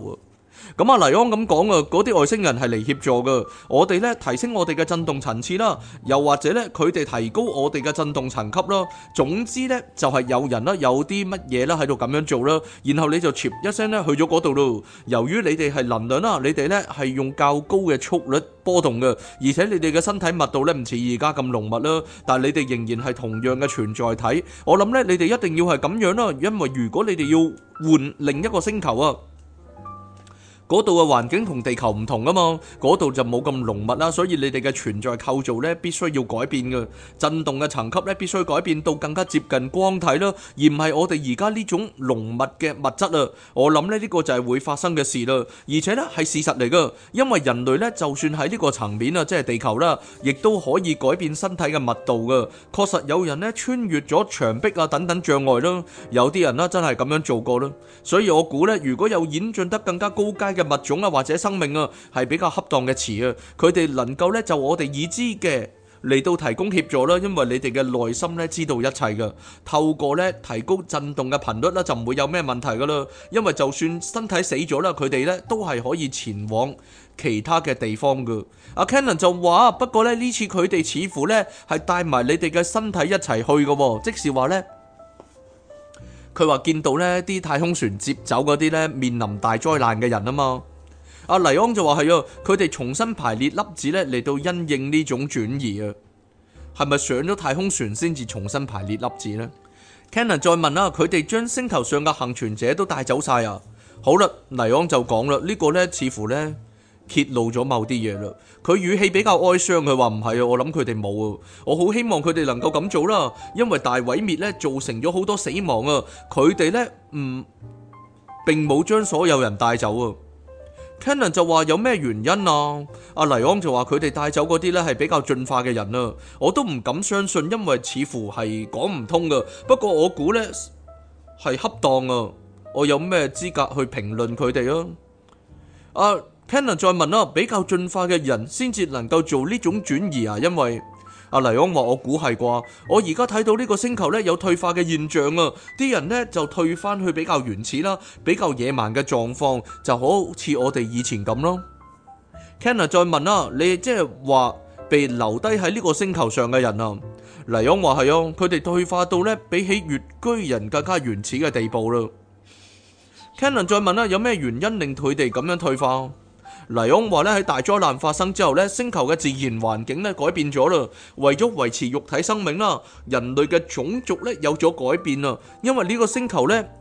咁啊，黎安咁講啊，嗰啲外星人係嚟協助噶，我哋咧提升我哋嘅震動層次啦，又或者咧佢哋提高我哋嘅震動層級啦。總之咧就係有人啦，有啲乜嘢啦喺度咁樣做啦，然後你就唰一聲咧去咗嗰度咯。由於你哋係能量啦，你哋咧係用較高嘅速率波動嘅，而且你哋嘅身體密度咧唔似而家咁濃密啦，但係你哋仍然係同樣嘅存在體。我諗咧你哋一定要係咁樣啦，因為如果你哋要換另一個星球啊，嗰度嘅環境同地球唔同啊嘛，嗰度就冇咁濃密啦，所以你哋嘅存在構造咧必須要改變嘅，震動嘅層級咧必須改變到更加接近光體啦，而唔係我哋而家呢種濃密嘅物質啊。我諗咧呢個就係會發生嘅事啦，而且咧係事實嚟噶，因為人類咧就算喺呢個層面啊，即係地球啦，亦都可以改變身體嘅密度噶。確實有人咧穿越咗牆壁啊等等障礙啦，有啲人啦真係咁樣做過啦，所以我估咧如果有演進得更加高階嘅物種啊，或者生命啊，係比較恰當嘅詞啊。佢哋能夠咧就我哋已知嘅嚟到提供協助啦，因為你哋嘅內心咧知道一切噶。透過咧提高震動嘅頻率咧，就唔會有咩問題噶啦。因為就算身體死咗啦，佢哋咧都係可以前往其他嘅地方噶。阿 Cannon 就話，不過咧呢次佢哋似乎咧係帶埋你哋嘅身體一齊去噶，即是話咧。佢話見到呢啲太空船接走嗰啲呢面臨大災難嘅人啊嘛，阿黎安就話係啊，佢哋重新排列粒子呢嚟到因應呢種轉移啊，係咪上咗太空船先至重新排列粒子呢？ Cannon 再問啦，佢哋將星球上嘅幸存者都帶走晒啊？好啦，黎安就講啦，呢個呢似乎呢揭露咗某啲嘢啦。佢語氣比較哀傷，佢話唔係啊，我諗佢哋冇啊，我好希望佢哋能夠咁做啦，因為大毀滅咧造成咗好多死亡啊，佢哋咧並冇將所有人帶走啊。Cannon 就話有咩原因啊？阿黎安就話佢哋帶走嗰啲咧係比較進化嘅人啊，我都唔敢相信，因為似乎係講唔通噶。不過我估咧係恰當啊，我有咩資格去評論佢哋啊？Cannon 再問啦，比較進化嘅人先至能夠做呢種轉移啊？因為阿黎安話我估係啩，我而家睇到呢個星球呢有退化嘅現象啊，啲人呢就退翻去比較原始啦，比較野蠻嘅狀況，就好似我哋以前咁咯。Cannon 再問啦，你即係話被留低喺呢個星球上嘅人啊？黎安話係啊，佢哋退化到呢比起穴居人更加原始嘅地步啦。Cannon 再問啦，有咩原因令佢哋咁樣退化？黎安話咧，喺大災難發生之後咧，星球嘅自然環境咧改變咗啦，為咗維持肉體生命啦，人類嘅種族咧有咗改變啦，因為呢個星球咧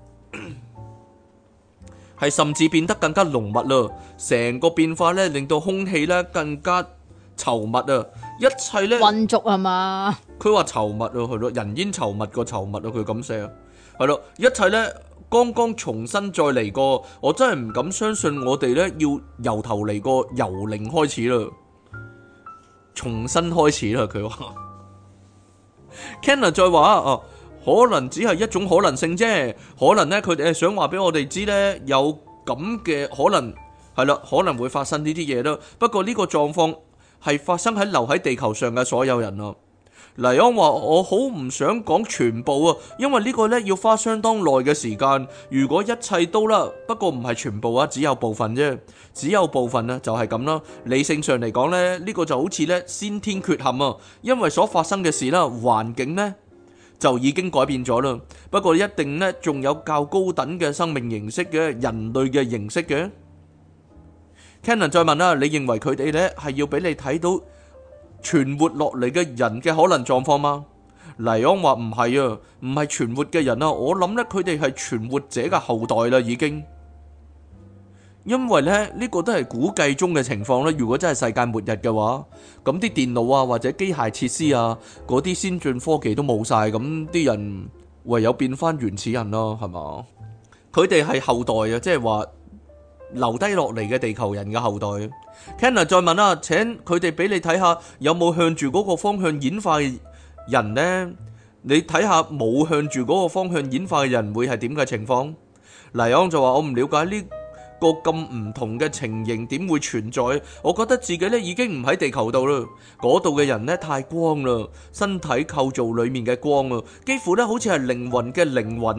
係甚至變得更加濃密啦，成個變化咧令到空氣咧更加稠密啊，一切咧混濁係嘛？ 佢話稠密啊，係咯，人煙稠密個稠密啊，佢咁寫啊，係咯，一切咧。剛剛重新再嚟過，我真係唔敢相信我哋呢要由頭嚟過，由零開始啦，重新開始啦。佢話 Cannon 再話可能只係一種可能性啫，可能呢，佢哋係想話俾我哋知呢，有咁嘅可能係啦，可能會發生呢啲嘢啦。不過呢個狀況係發生喺留喺地球上嘅所有人啊。黎安話我好唔想講全部啊，因為呢個呢要花相當耐嘅時間。如果一切都啦，不過唔係全部啊，只有部分啫，只有部分啊，就係咁啦。理性上嚟講呢，呢個就好似呢先天缺陷啊，因為所發生嘅事啦，環境呢就已經改變咗啦。不過一定呢仲有較高等嘅生命形式嘅人類嘅形式嘅。Cannon 再問啦，你認為佢哋呢係要俾你睇到存活落嚟嘅人嘅可能狀況嗎？黎安話唔係啊，唔係存活嘅人啊，我諗咧佢哋係存活者嘅後代啦，已經。因為咧呢個都係估計中嘅情況啦。如果真係世界末日嘅話，咁啲電腦啊或者機械設施啊嗰啲先進科技都冇晒，咁啲人唯有變翻原始人咯，係嘛？佢哋係後代啊，即係話留低落嚟嘅地球人嘅後代。Cannon 再問啦，請佢哋俾你睇下有冇向住嗰個方向演化嘅人呢？你睇下冇向住嗰個方向演化嘅人會係點嘅情況？黎安就話我唔了解呢個咁唔同嘅情形點會存在，我覺得自己咧已經唔喺地球度啦，嗰度嘅人咧太光啦，身體構造裏面嘅光啊，幾乎咧好似係靈魂嘅靈魂啊，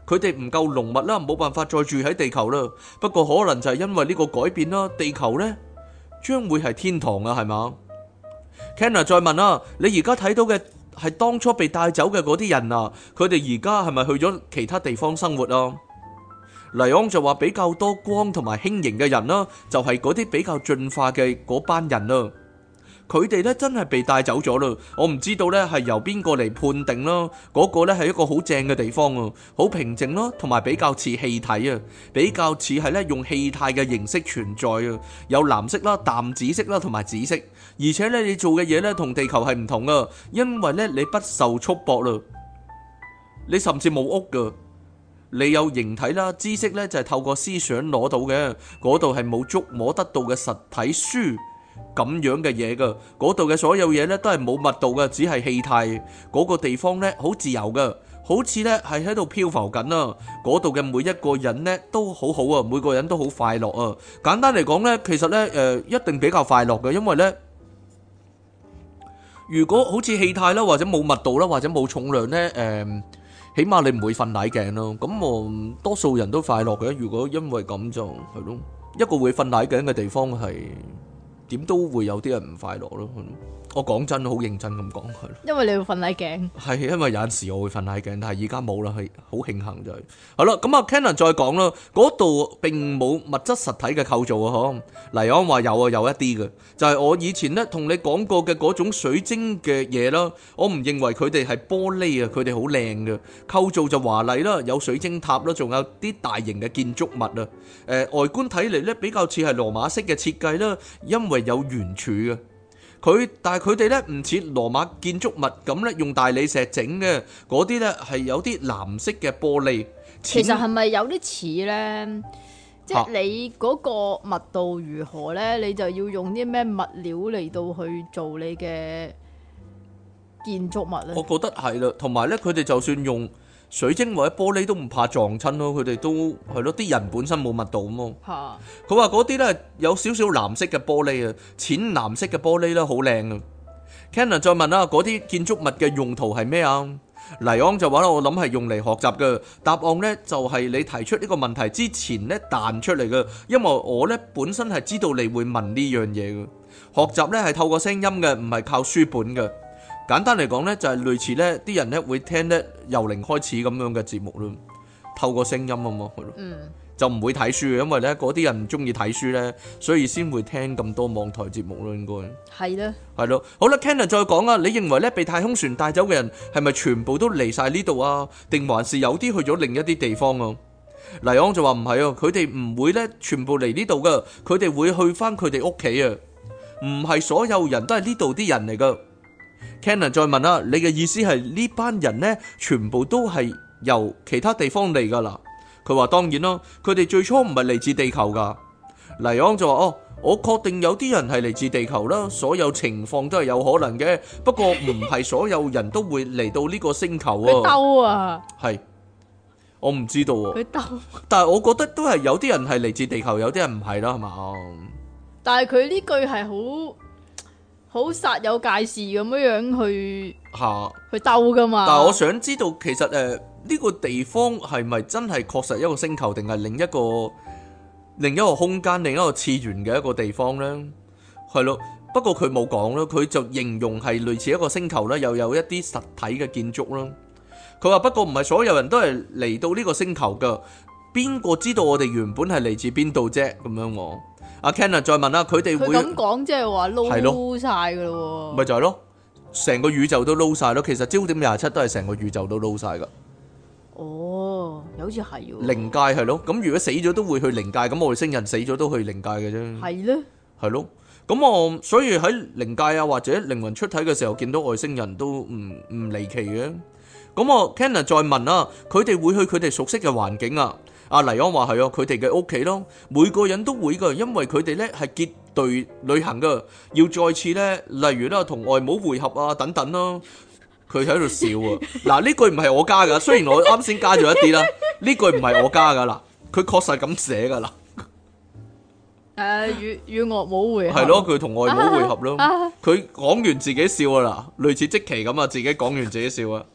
佢哋唔夠濃密啦，冇辦法再住喺地球啦。不過可能就係因為呢個改變啦，地球呢將會係天堂啊，係嘛？Kenna 再問啊，你而家睇到嘅係當初被帶走嘅嗰啲人啊，佢哋而家係咪去咗其他地方生活啊？黎昂就話比較多光同埋輕盈嘅人啦，就係嗰啲比較進化嘅嗰班人啦。佢哋咧真係被帶走咗啦，我唔知道咧係由邊個嚟判定啦。嗰個咧係一個好正嘅地方啊，好平靜咯，同埋比較似氣體啊，比較似係咧用氣態嘅形式存在啊，有藍色啦、淡紫色啦同埋紫色，而且咧你做嘅嘢咧同地球係唔同啊，因為咧你不受束縛啦，你甚至冇屋噶。你有形體啦，知識咧就係透過思想攞到嘅，嗰度係冇觸摸得到嘅實體書咁樣嘅嘢噶，嗰度嘅所有嘢咧都係冇密度嘅，只係氣態。嗰個地方咧好自由噶，好似咧係喺度漂浮緊啊。嗰度嘅每一個人咧都好好啊，每個人都好快樂啊。簡單嚟講咧，其實咧一定比較快樂嘅，因為咧如果好似氣態啦，或者冇密度啦，或者冇重量咧，起碼你唔會瞓奶頸咯，咁我多數人都快樂嘅。如果因為咁就係咯，一個會瞓奶頸嘅地方係點都會有啲人唔快樂咯。我講真，好認真咁講係咯。 因為你會瞓奶頸。係因為有陣時我會瞓奶頸，但係而家冇啦，係好慶幸就係。好啦，咁啊 Cannon 再講啦，嗰度並冇物質實體嘅構造啊，嗬。黎安話有啊，有一啲嘅，就係我以前咧同你講過嘅嗰種水晶嘅嘢啦。我唔認為佢哋係玻璃啊，佢哋好靚嘅構造就華麗啦，有水晶塔啦，仲有啲大型嘅建築物啊。外觀睇嚟咧比較似係羅馬式嘅設計啦，因為有圓柱嘅。但係佢哋咧唔似羅馬建築物咁咧用大理石整嘅，嗰啲咧係有啲藍色嘅玻璃。 其實係咪有啲似咧？即係你嗰個密度如何咧，你就要用啲咩物料嚟到去做你嘅建築物咧？ 我覺得係啦，同埋咧佢哋就算用水晶或者玻璃都唔怕撞親咯，佢哋都係咯，啲人本身冇密度咁啊。佢話嗰啲咧有少少藍色嘅玻璃啊，淺藍色嘅玻璃咧好靚啊。Cannon 再問啦，嗰啲建築物嘅用途係咩啊？黎昂就話啦，我諗係用嚟學習嘅。答案咧就係你提出呢個問題之前咧彈出嚟嘅，因為我咧本身係知道你會問呢樣嘢嘅。學習咧係透過聲音嘅，唔係靠書本嘅。簡單嚟講咧，就係類似咧啲人咧會聽咧由零開始咁樣嘅節目咯，透過聲音啊嘛，係咯，就唔會睇書嘅，因為咧嗰啲人唔中意睇書咧，所以先會聽咁多網台節目咯，應該係咧，係咯。好啦 Cannon 再講啊，你認為咧被太空船帶走嘅人係咪全部都嚟晒呢度啊？定還是有啲去咗另一啲地方啊？黎昂就話唔係啊，佢哋唔會咧全部嚟呢度噶，佢哋會去翻佢哋屋企啊，唔係所有人都係呢度啲人嚟噶。Cannon 再問啦，你嘅意思係呢班人呢，全部都係由其他地方嚟噶啦？佢話當然咯，佢哋最初唔係嚟自地球噶。黎昂就話我確定有啲人係嚟自地球啦，所有情況都係有可能嘅，不過唔係所有人都會嚟到呢個星球啊。佢兜啊，係我唔知道喎。佢兜，但係我覺得都係有啲人係嚟自地球，有啲人唔係啦，係嘛？但係佢呢句係好煞有介事咁樣去兜噶嘛？但係我想知道，其實呢個地方係咪真係確實一個星球，定係另一個空間、另一個次元嘅一個地方呢？係咯，不過佢冇講咯，佢就形容係類似一個星球啦，又有一啲實體嘅建築啦。佢話不過唔係所有人都係嚟到呢個星球噶，邊個知道我哋原本係嚟自邊度啫？咁樣我。阿 Ken 再問啦，佢哋會咁講，即係話撈晒噶咯？咪就係咯，成個宇宙都撈晒咯。其實焦點27都係成個宇宙都撈晒噶。哦，又好似係喎。靈界係咯，咁如果死咗都會去靈界，咁外星人死咗都去靈界嘅啫。係咧，係咯。咁我所以喺靈界啊或者靈魂出體嘅時候見到外星人都唔離奇嘅。咁我 Ken 再問啦，佢哋會去佢哋熟悉嘅環境啊？阿黎安話係啊，佢哋嘅屋企咯，每個人都會噶，因為佢哋咧係結隊旅行噶，要再次咧，例如咧同外母會合啊等等咯。佢喺度笑啊！嗱，呢句唔係我加噶，雖然我啱先加咗一啲啦，呢句唔係我加噶啦，佢確實咁寫噶啦。與外母會合係咯，佢同外母會合咯。佢講完自己笑啊啦，類似積奇咁啊，自己講完自己笑啊。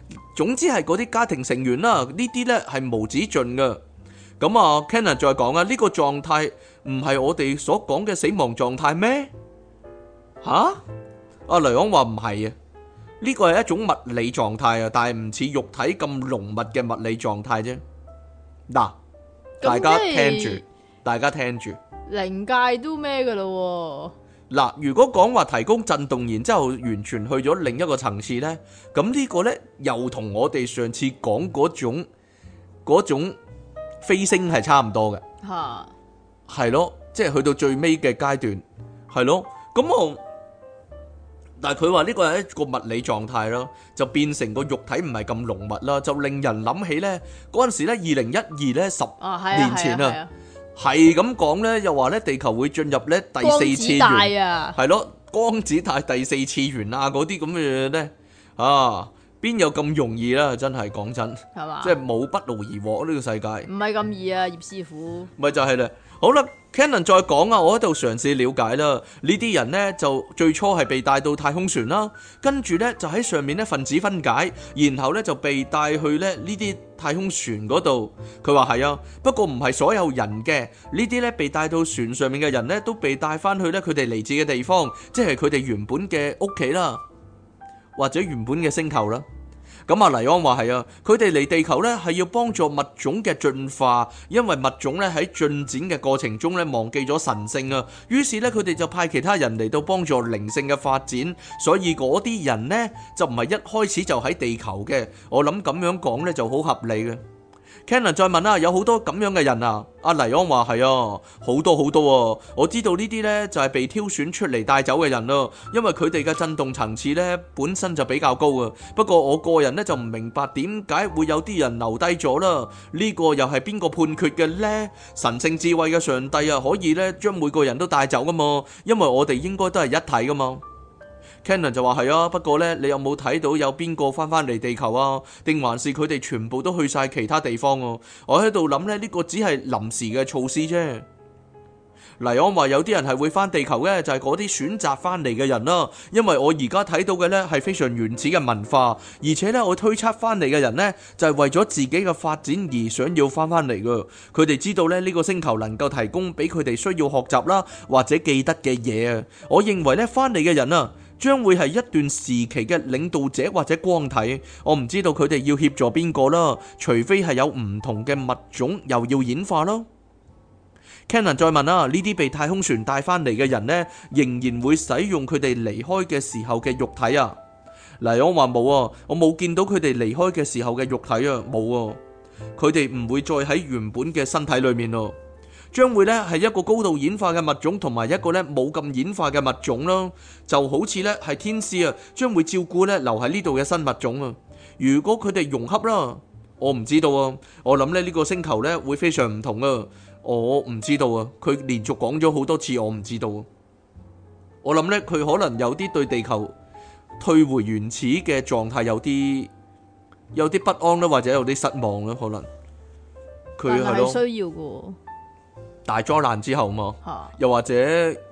總之係嗰啲家庭成員啦，呢啲呢係無止盡嘅。咁啊 Cannon 再講啊，呢個狀態唔係我哋所講嘅死亡狀態咩？吓？阿雷昂話唔係啊，呢個係一種物理狀態啊，但係唔似肉體咁濃密嘅物理狀態啫。嗱，大家聽住，大家聽住， 靈界都咩噶咯？ 嗱，如果講話提供震動，然之後完全去咗另一個層次呢，咁呢個呢又同我哋上次講嗰種飛升係差唔多嘅， 吓， 係咯，即係去到最尾嘅階段，係咯，咁但係佢話呢個係一個物理狀態咯，就變成個肉體唔係咁濃密啦，就令人諗起呢嗰陣時呢2012呢10年前啊。係咁講咧，又話咧地球會進入咧第四次元，係咯，光子帶第四次元啊，嗰啲咁嘅嘢咧，啊，邊有咁容易啦？真係講真，係嘛？即係冇不勞而獲呢個世界， 唔係咁易啊，葉師傅。 咪就係啦。好啦 ，Cannon 再講啊，我喺度嘗試了解啦。呢啲人呢，就最初係被帶到太空船啦，跟住呢，就喺上面呢分子分解，然後呢，就被帶去咧呢啲太空船嗰度。佢話係啊，不過唔係所有人嘅，呢啲呢，被帶到船上面嘅人呢，都被帶翻去呢佢哋嚟自嘅地方，即係佢哋原本嘅屋企啦，或者原本嘅星球啦。咁啊，黎安話係啊，佢哋嚟地球呢係要幫助物種嘅進化，因為物種呢喺進展嘅過程中呢忘記咗神性啊，於是呢，佢哋就派其他人嚟到幫助靈性嘅發展，所以嗰啲人呢就唔係一開始就喺地球嘅，我諗咁樣講呢就好合理嘅。Cannon 再問啊，有好多咁樣嘅人啊？阿黎安話係啊，好多好多啊！我知道呢啲呢就係被挑選出嚟帶走嘅人咯，因為佢哋嘅震動層次呢本身就比較高啊。不過我個人呢就唔明白點解會有啲人留低咗啦？呢個又係邊個判決嘅呢？神聖智慧嘅上帝啊，可以呢將每個人都帶走噶嘛？因為我哋應該都係一體噶嘛。Cannon 就話係啊，不過呢，你有冇睇到有邊個翻嚟地球啊？定還是佢哋全部都去晒其他地方啊？我喺度諗呢，呢個只係臨時嘅措施啫。黎安話有啲人係會翻地球嘅，就係嗰啲選擇翻嚟嘅人啦。因為我而家睇到嘅呢係非常原始嘅文化，而且呢，我推測翻嚟嘅人呢，就係為咗自己嘅發展而想要翻嚟噶。佢哋知道呢，呢個星球能夠提供俾佢哋需要學習啦或者記得嘅嘢啊。我認為呢，翻嚟嘅人啊，將會係一段時期嘅領導者或者光體，我唔知道佢哋要協助邊個啦，除非係有唔同嘅物種又要演化咯。Cannon 再問啊，呢啲被太空船帶翻嚟嘅人呢，仍然會使用佢哋離開嘅時候嘅肉體啊？黎安話冇啊，我冇見到佢哋離開嘅時候嘅肉體啊，冇啊，佢哋唔會再喺原本嘅身體裏面咯。將會咧係一個高度演化嘅物種同埋一個咧冇咁演化嘅物種咯，就好似咧係天使啊，將會照顧咧留喺呢度嘅新物種啊。如果佢哋融合啦，我唔知道啊。我諗咧呢個星球咧會非常唔同啊。我唔知道啊。佢連續講咗好多次，我唔知道啊。我諗咧佢可能有啲對地球退回原始嘅狀態有啲不安啦，或者有啲失望啦，可能佢係咯需要嘅。 大災難之後嘛，又或者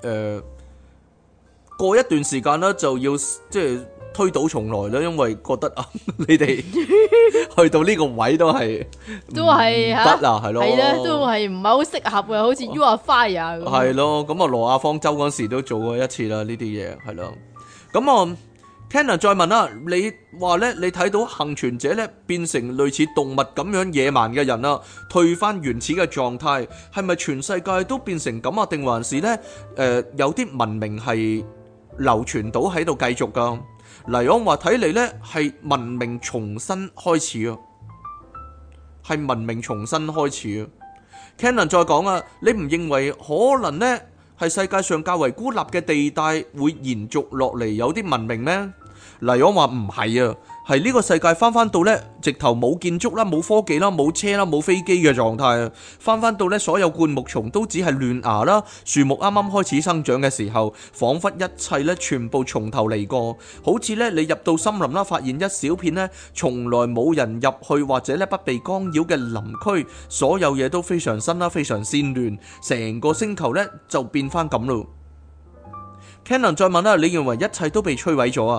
過一段時間啦，就要即係推倒重來啦，因為覺得啊，你哋去到呢個位都係得啊， 係咯， 係咧，都係唔係好適合嘅，好似 You Are Fire 咁。 係咯，咁啊羅亞方舟嗰時都做過一次啦，呢啲嘢係咯，咁啊。Cannon 再問啦，你話咧，你睇到幸存者咧變成類似動物咁樣野蠻嘅人啦，退翻原始嘅狀態，係咪全世界都變成咁啊？定還是咧有啲文明係流傳到喺度繼續噶？黎安話睇嚟咧係文明重新開始啊，係文明重新開始啊。Cannon 再講啊，你唔認為可能咧係世界上較為孤立嘅地帶會延續落嚟有啲文明咩？黎安話唔係啊，係呢個世界翻到呢，直頭冇建築啦，冇科技啦，冇車啦，冇飛機嘅狀態啊！翻到呢，所有灌木叢都只係嫩芽啦，樹木啱啱開始生長嘅時候，彷彿一切呢全部從頭嚟過，好似呢，你入到森林啦，發現一小片呢從來冇人入去或者呢不被干擾嘅林區，所有嘢都非常新啦，非常鮮嫩，成個星球呢就變翻咁咯。Cannon 再問啦，你認為一切都被摧毀咗啊？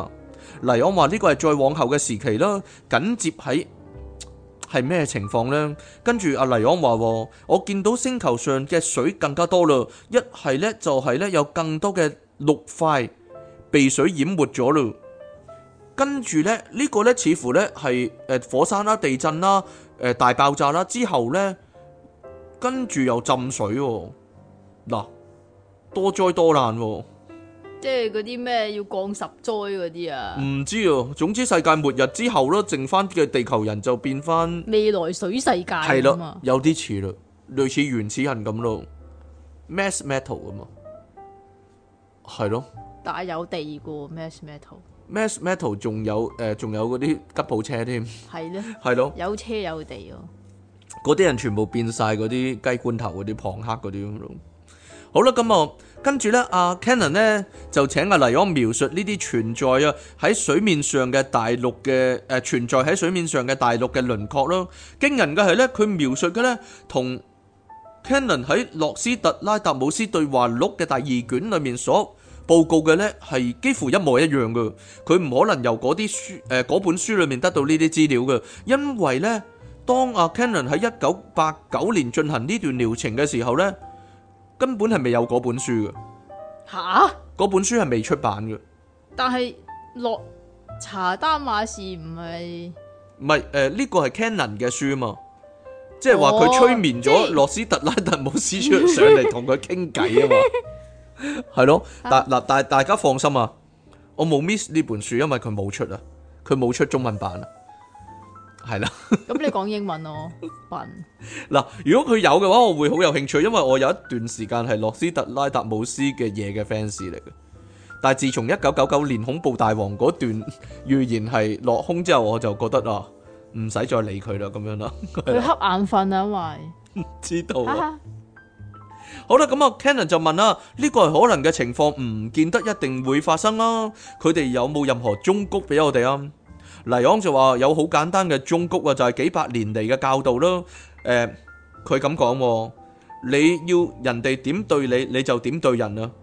黎安話呢個係再往後嘅時期啦，緊接喺係咩情況呢？跟住阿黎安話，我見到星球上嘅水更加多啦，一係呢，就係呢，有更多嘅陸塊被水淹沒咗啦。跟住呢，呢個呢，似乎呢係火山啦、地震啦、大爆炸啦之後呢，跟住又浸水喎。嗱，多災多難喎。 即係嗰啲咩要降十災嗰啲啊？ 唔知啊，總之世界末日之後咯，剩翻嘅地球人就變翻未來水世界係啊嘛啦，有啲似啦，類似原始人咁咯 ，mass metal 啊嘛，係咯但係有地個 mass metal， ，mass metal 仲有嗰啲吉普車添， 係咧， 係咯， 有車有地咯。 嗰啲人全部變晒嗰啲雞罐頭嗰啲龐克嗰啲咁咯。好啦，咁啊，跟住咧，阿 Cannon 咧就請阿黎安描述呢啲存在啊喺水面上嘅大陸嘅存在喺水面上嘅大陸嘅輪廓咯。驚人嘅係咧，佢描述嘅咧同 Cannon 喺洛斯特拉達姆斯對話錄嘅第二卷裏面所報告嘅咧係幾乎一模一樣嘅。佢唔可能由嗰啲書嗰本書裏面得到呢啲資料嘅，因為咧當阿 Cannon 喺1989年進行呢段療程嘅時候咧，根本係未有嗰本書嘅， 吓？ 嗰本書係未出版嘅。 但係洛查丹馬士唔係呢個係 Cannon 嘅書嘛，即係話佢催眠咗羅斯特拉特姆斯出上嚟同佢傾偈啊嘛，係咯。但大家放心啊，我冇 miss 呢本書，因為佢冇出啊，佢冇出中文版啊。係啦， 咁你講英文咯，笨。 嗱，如果佢有嘅話，我會好有興趣，因為我有一段時間係洛斯特拉達姆斯嘅嘢嘅 fans 嚟嘅。但係自從1999年恐怖大王嗰段預言係落空之後，我就覺得啊，唔使再理佢啦，咁樣啦。 佢瞌眼瞓啊，因為知道啊。好啦，咁啊 Cannon 就問啦，呢個係可能嘅情況，唔見得一定會發生啦。佢哋有冇任何忠告俾我哋啊？黎昂就話有好簡單嘅忠告啊，就係幾百年嚟嘅教導咯。佢咁講，你要人哋點對你，你就點對人啊。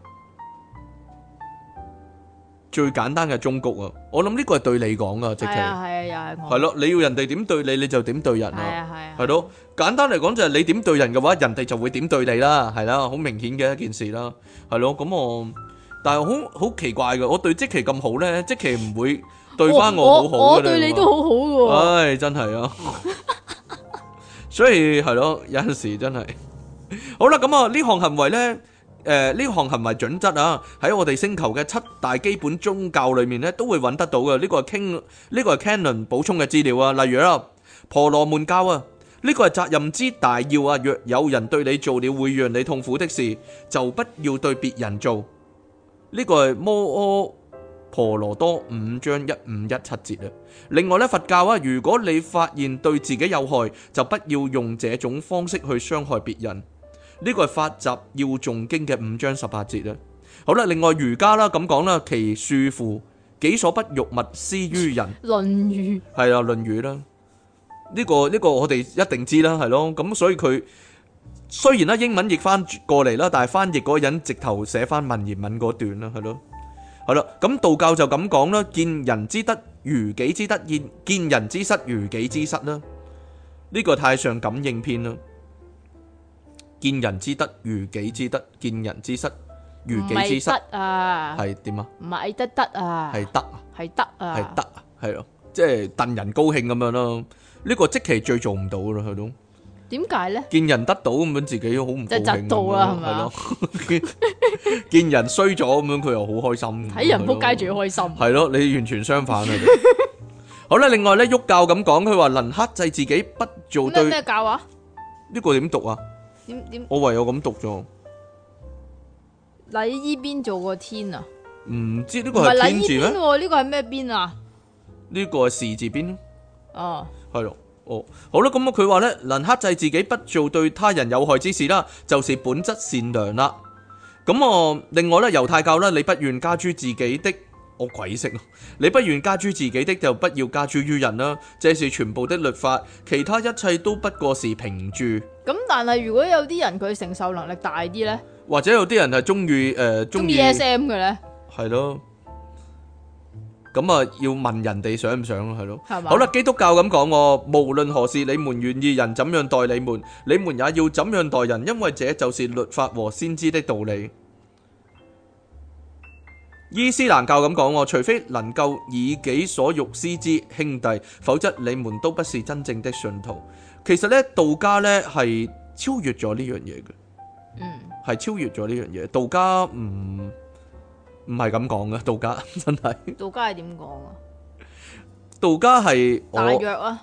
最簡單嘅忠告啊，我諗呢個係對你講噶，直情係啊，又係我。 係咯，你要人哋點對你，你就點對人啊。 係啊， 係咯，簡單嚟講就係你點對人嘅話，人哋就會點對你啦，係啦，好明顯嘅一件事啦，係咯。咁但係好奇怪嘅，我對積奇咁好咧，積奇唔會對翻我好好嘅。 我對你都好好嘅。 唉，真係啊，所以係咯，有陣時真係好啦。咁啊，呢項行為咧，呢項行為準則啊，喺我哋星球嘅7大基本宗教裏面咧，都會揾得到嘅。呢個係 Cannon 補充嘅資料啊。例如啦，婆羅門教啊，呢個係責任之大要啊。若有人對你做了會讓你痛苦的事，就不要對別人做。呢個係摩訶婆羅多5章1517節啊。另外咧，佛教啊，如果你發現對自己有害，就不要用這種方式去傷害別人。呢個係法集要誦經嘅5章18節啊。好啦，另外儒家啦咁講啦，其恕乎己所不欲，勿施於人。 論語係啊，論語啦。呢個我哋一定知啦，係咯。咁所以佢雖然啦英文譯翻過嚟啦，但係翻譯嗰個人直頭寫翻文言文嗰段啦，係咯。係啦，咁道教就咁講啦，見人之德如己之德，見人之失如己之失啦。呢個太上感應篇啦。見人之德如己之德，見人之失如己之失。 啊， 係點啊？ 唔係得啊， 係得啊， 係得啊， 係得啊，係咯，即係戥人高興咁樣咯。呢個即期最做唔到啦，係咯。 點解咧？ 見人得到咁樣，自己好唔高興。 就窒到啦，係咪啊？ 見人衰咗咁樣，佢又好開心。 睇人仆街最開心。 係咯，你完全相反啊！好啦，另外咧，郁教咁講，佢話能克制自己不做對咩教啊？ 呢個點讀啊？ 點？ 我唯有咁讀咗。 禮依邊做個天啊？ 唔知呢個係天字咩？ 呢個係咩邊啊？ 呢個係士字邊。 哦， 係咯。哦，好啦，咁啊，佢話咧，能克制自己不做對他人有害之事啦，就是本質善良啦。咁另外咧，猶太教咧，你不願加諸自己的，我鬼識咯，你不願加諸自己的，就不要加諸於人啦。這是全部的律法，其他一切都不過是評注。 咁但係如果有啲人佢承受能力大啲咧， 或者有啲人係中意中意 SM 嘅咧， 係咯。 咁啊要問人哋想唔想咯，係咯。 係嘛？ 好啦，基督教咁講喎，無論何事，你們願意人怎樣待你們，你們也要怎樣待人，因為這就是律法和先知的道理。伊斯蘭教咁講喎，除非能夠以己所欲施之兄弟，否則你們都不是真正的信徒。其實呢，道家呢係超越咗呢樣嘢嘅，係超越咗呢樣嘢。道家唔係咁講嘅，道家真係。 道家係點講啊？ 道家係大約啊，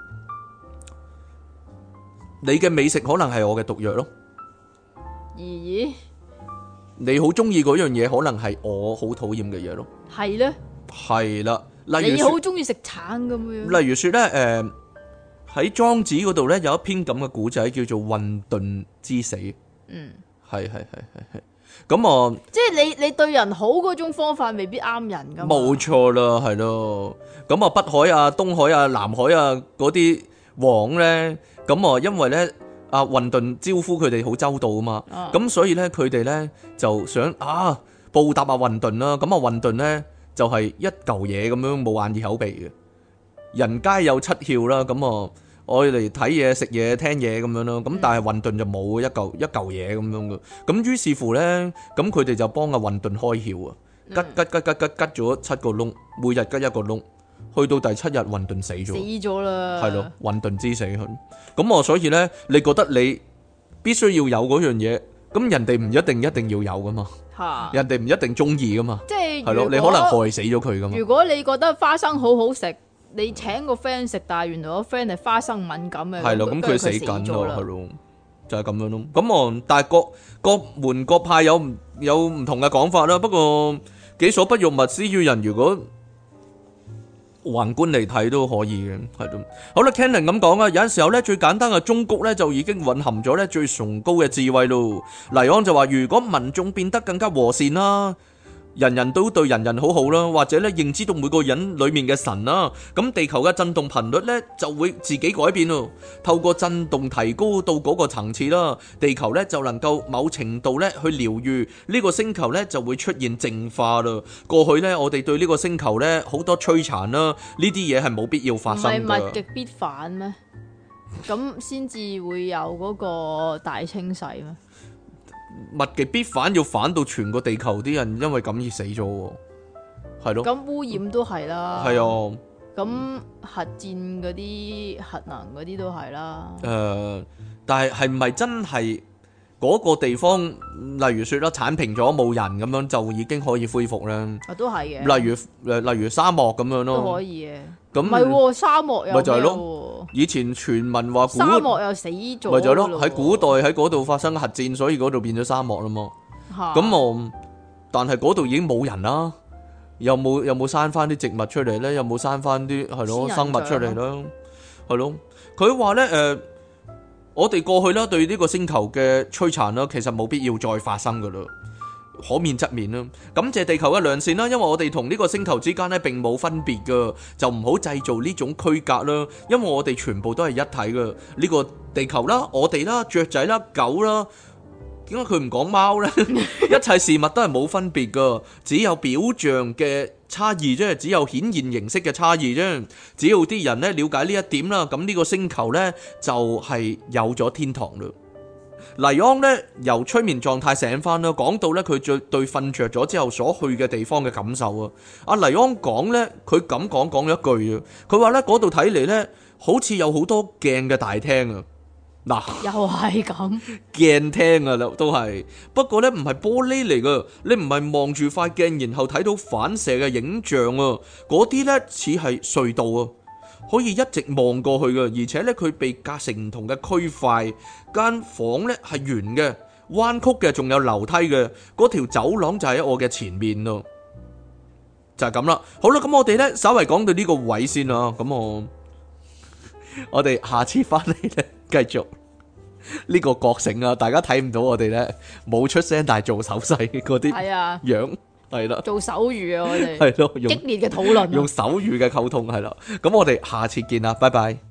你嘅美食可能係我嘅毒藥咯。 咦？ 你好中意嗰樣嘢，可能係我好討厭嘅嘢咯。 係咧， 係啦，例如你好中意食橙咁樣。 例如說咧，喺莊子嗰度咧有一篇咁嘅古仔，叫做混沌之死。係。咁啊， 即係你對人好嗰種方法未必啱人噶嘛。 冇錯啦，係咯。咁啊，北海啊、東海啊、南海啊嗰啲王咧，咁啊，因為咧啊混沌招呼佢哋好周到啊嘛，咁所以咧佢哋咧就想報答啊混沌啦。咁啊混沌咧就係一嚿嘢咁樣冇眼耳口鼻嘅，人皆有七竅啦。咁啊我嚟睇嘢、食嘢、聽嘢咁樣咯，咁但係混沌就冇一嚿嘢咁樣嘅，咁於是乎咧，咁佢哋就幫阿混沌開竅啊，吉咗7個窿，每日吉一個窿，去到第7日混沌死咗啦，係咯，混沌之死。咁我所以咧，你覺得你必須要有嗰樣嘢，咁人哋唔一定要有噶嘛，人哋唔一定中意噶嘛，即係係咯，你可能害死咗佢噶嘛。 如果你覺得花生好好食，你請個 friend 食，但係原來個 friend 係花生敏感嘅， 係咯，咁佢死緊咯，係咯，就係咁樣咯。咁但係各門各派有唔同嘅講法啦。不過己所不欲，勿施於人。如果宏觀嚟睇都可以嘅，係咯。好啦 ，Cannon 咁講啊，有陣時候咧最簡單嘅忠告咧就已經蘊含咗咧最崇高嘅智慧咯。黎安就話：如果民眾變得更加和善啦，人人都對人人好好啦，或者咧認知到每個人裏面嘅神啦，咁地球嘅震動頻率咧就會自己改變咯。透過震動提高到嗰個層次啦，地球咧就能夠某程度咧去療癒呢個星球咧就會出現淨化啦。過去咧我哋對呢個星球咧好多摧殘啦，呢啲嘢係冇必要發生㗎。唔係物極必反咩？咁先至會有嗰個大清洗咩？ 物極必反，要反到全個地球啲人因為咁而死咗，係咯。咁污染都係啦， 係啊。 咁核戰嗰啲核能嗰啲都係啦。 但係唔係真係嗰個地方，例如說啦，剷平咗冇人咁樣就已經可以恢復咧？ 都係嘅。 例如沙漠咁樣咯， 都可以嘅。 咁唔係沙漠又咪就係咯。以前傳聞話沙漠又死咗， 咪就係咯。喺古代喺嗰度發生核戰，所以嗰度變咗沙漠啦嘛。咁但係嗰度已經冇人啦，有冇生翻啲植物出嚟咧？有冇生翻啲係咯生物出嚟咧？係咯。佢話咧我哋過去啦對呢個星球嘅摧殘啦，其實冇必要再發生噶啦。可免則免啦，感謝地球嘅良善啦，因為我哋同呢個星球之間咧並冇分別噶，就唔好製造呢種區隔啦，因為我哋全部都係一體噶，呢個地球啦、我哋啦、雀仔啦、狗啦，點解佢唔講貓呢？一切事物都係冇分別噶，只有表象嘅差異啫，只有顯現形式嘅差異啫，只要啲人咧了解呢一點啦，咁呢個星球呢，就係有咗天堂啦。黎安咧由催眠狀態醒翻啦，講到咧佢對瞓着咗之後所去嘅地方嘅感受啊。阿黎安講咧，佢咁講咗一句啊，佢話咧嗰度睇嚟咧好似有好多鏡嘅大廳啊。嗱， 又係咁鏡廳啊，都係，不過咧唔係玻璃嚟噶，你唔係望住塊鏡然後睇到反射嘅影像啊，嗰啲咧似係隧道啊。可以一直望過去嘅，而且咧佢被隔成唔同嘅區塊，間房咧係圓嘅、彎曲嘅，仲有樓梯嘅。嗰條走廊就喺我嘅前面咯，就係咁啦。好啦，咁我哋咧稍微講到呢個位先啦。咁我哋下次翻嚟咧繼續呢個覺醒啊！大家睇唔到我哋咧冇出聲，但係做手勢嗰啲樣。係啦，做手語啊，我哋係咯，激烈嘅討論，用手語嘅溝通係啦。咁我哋下次見啦，拜拜。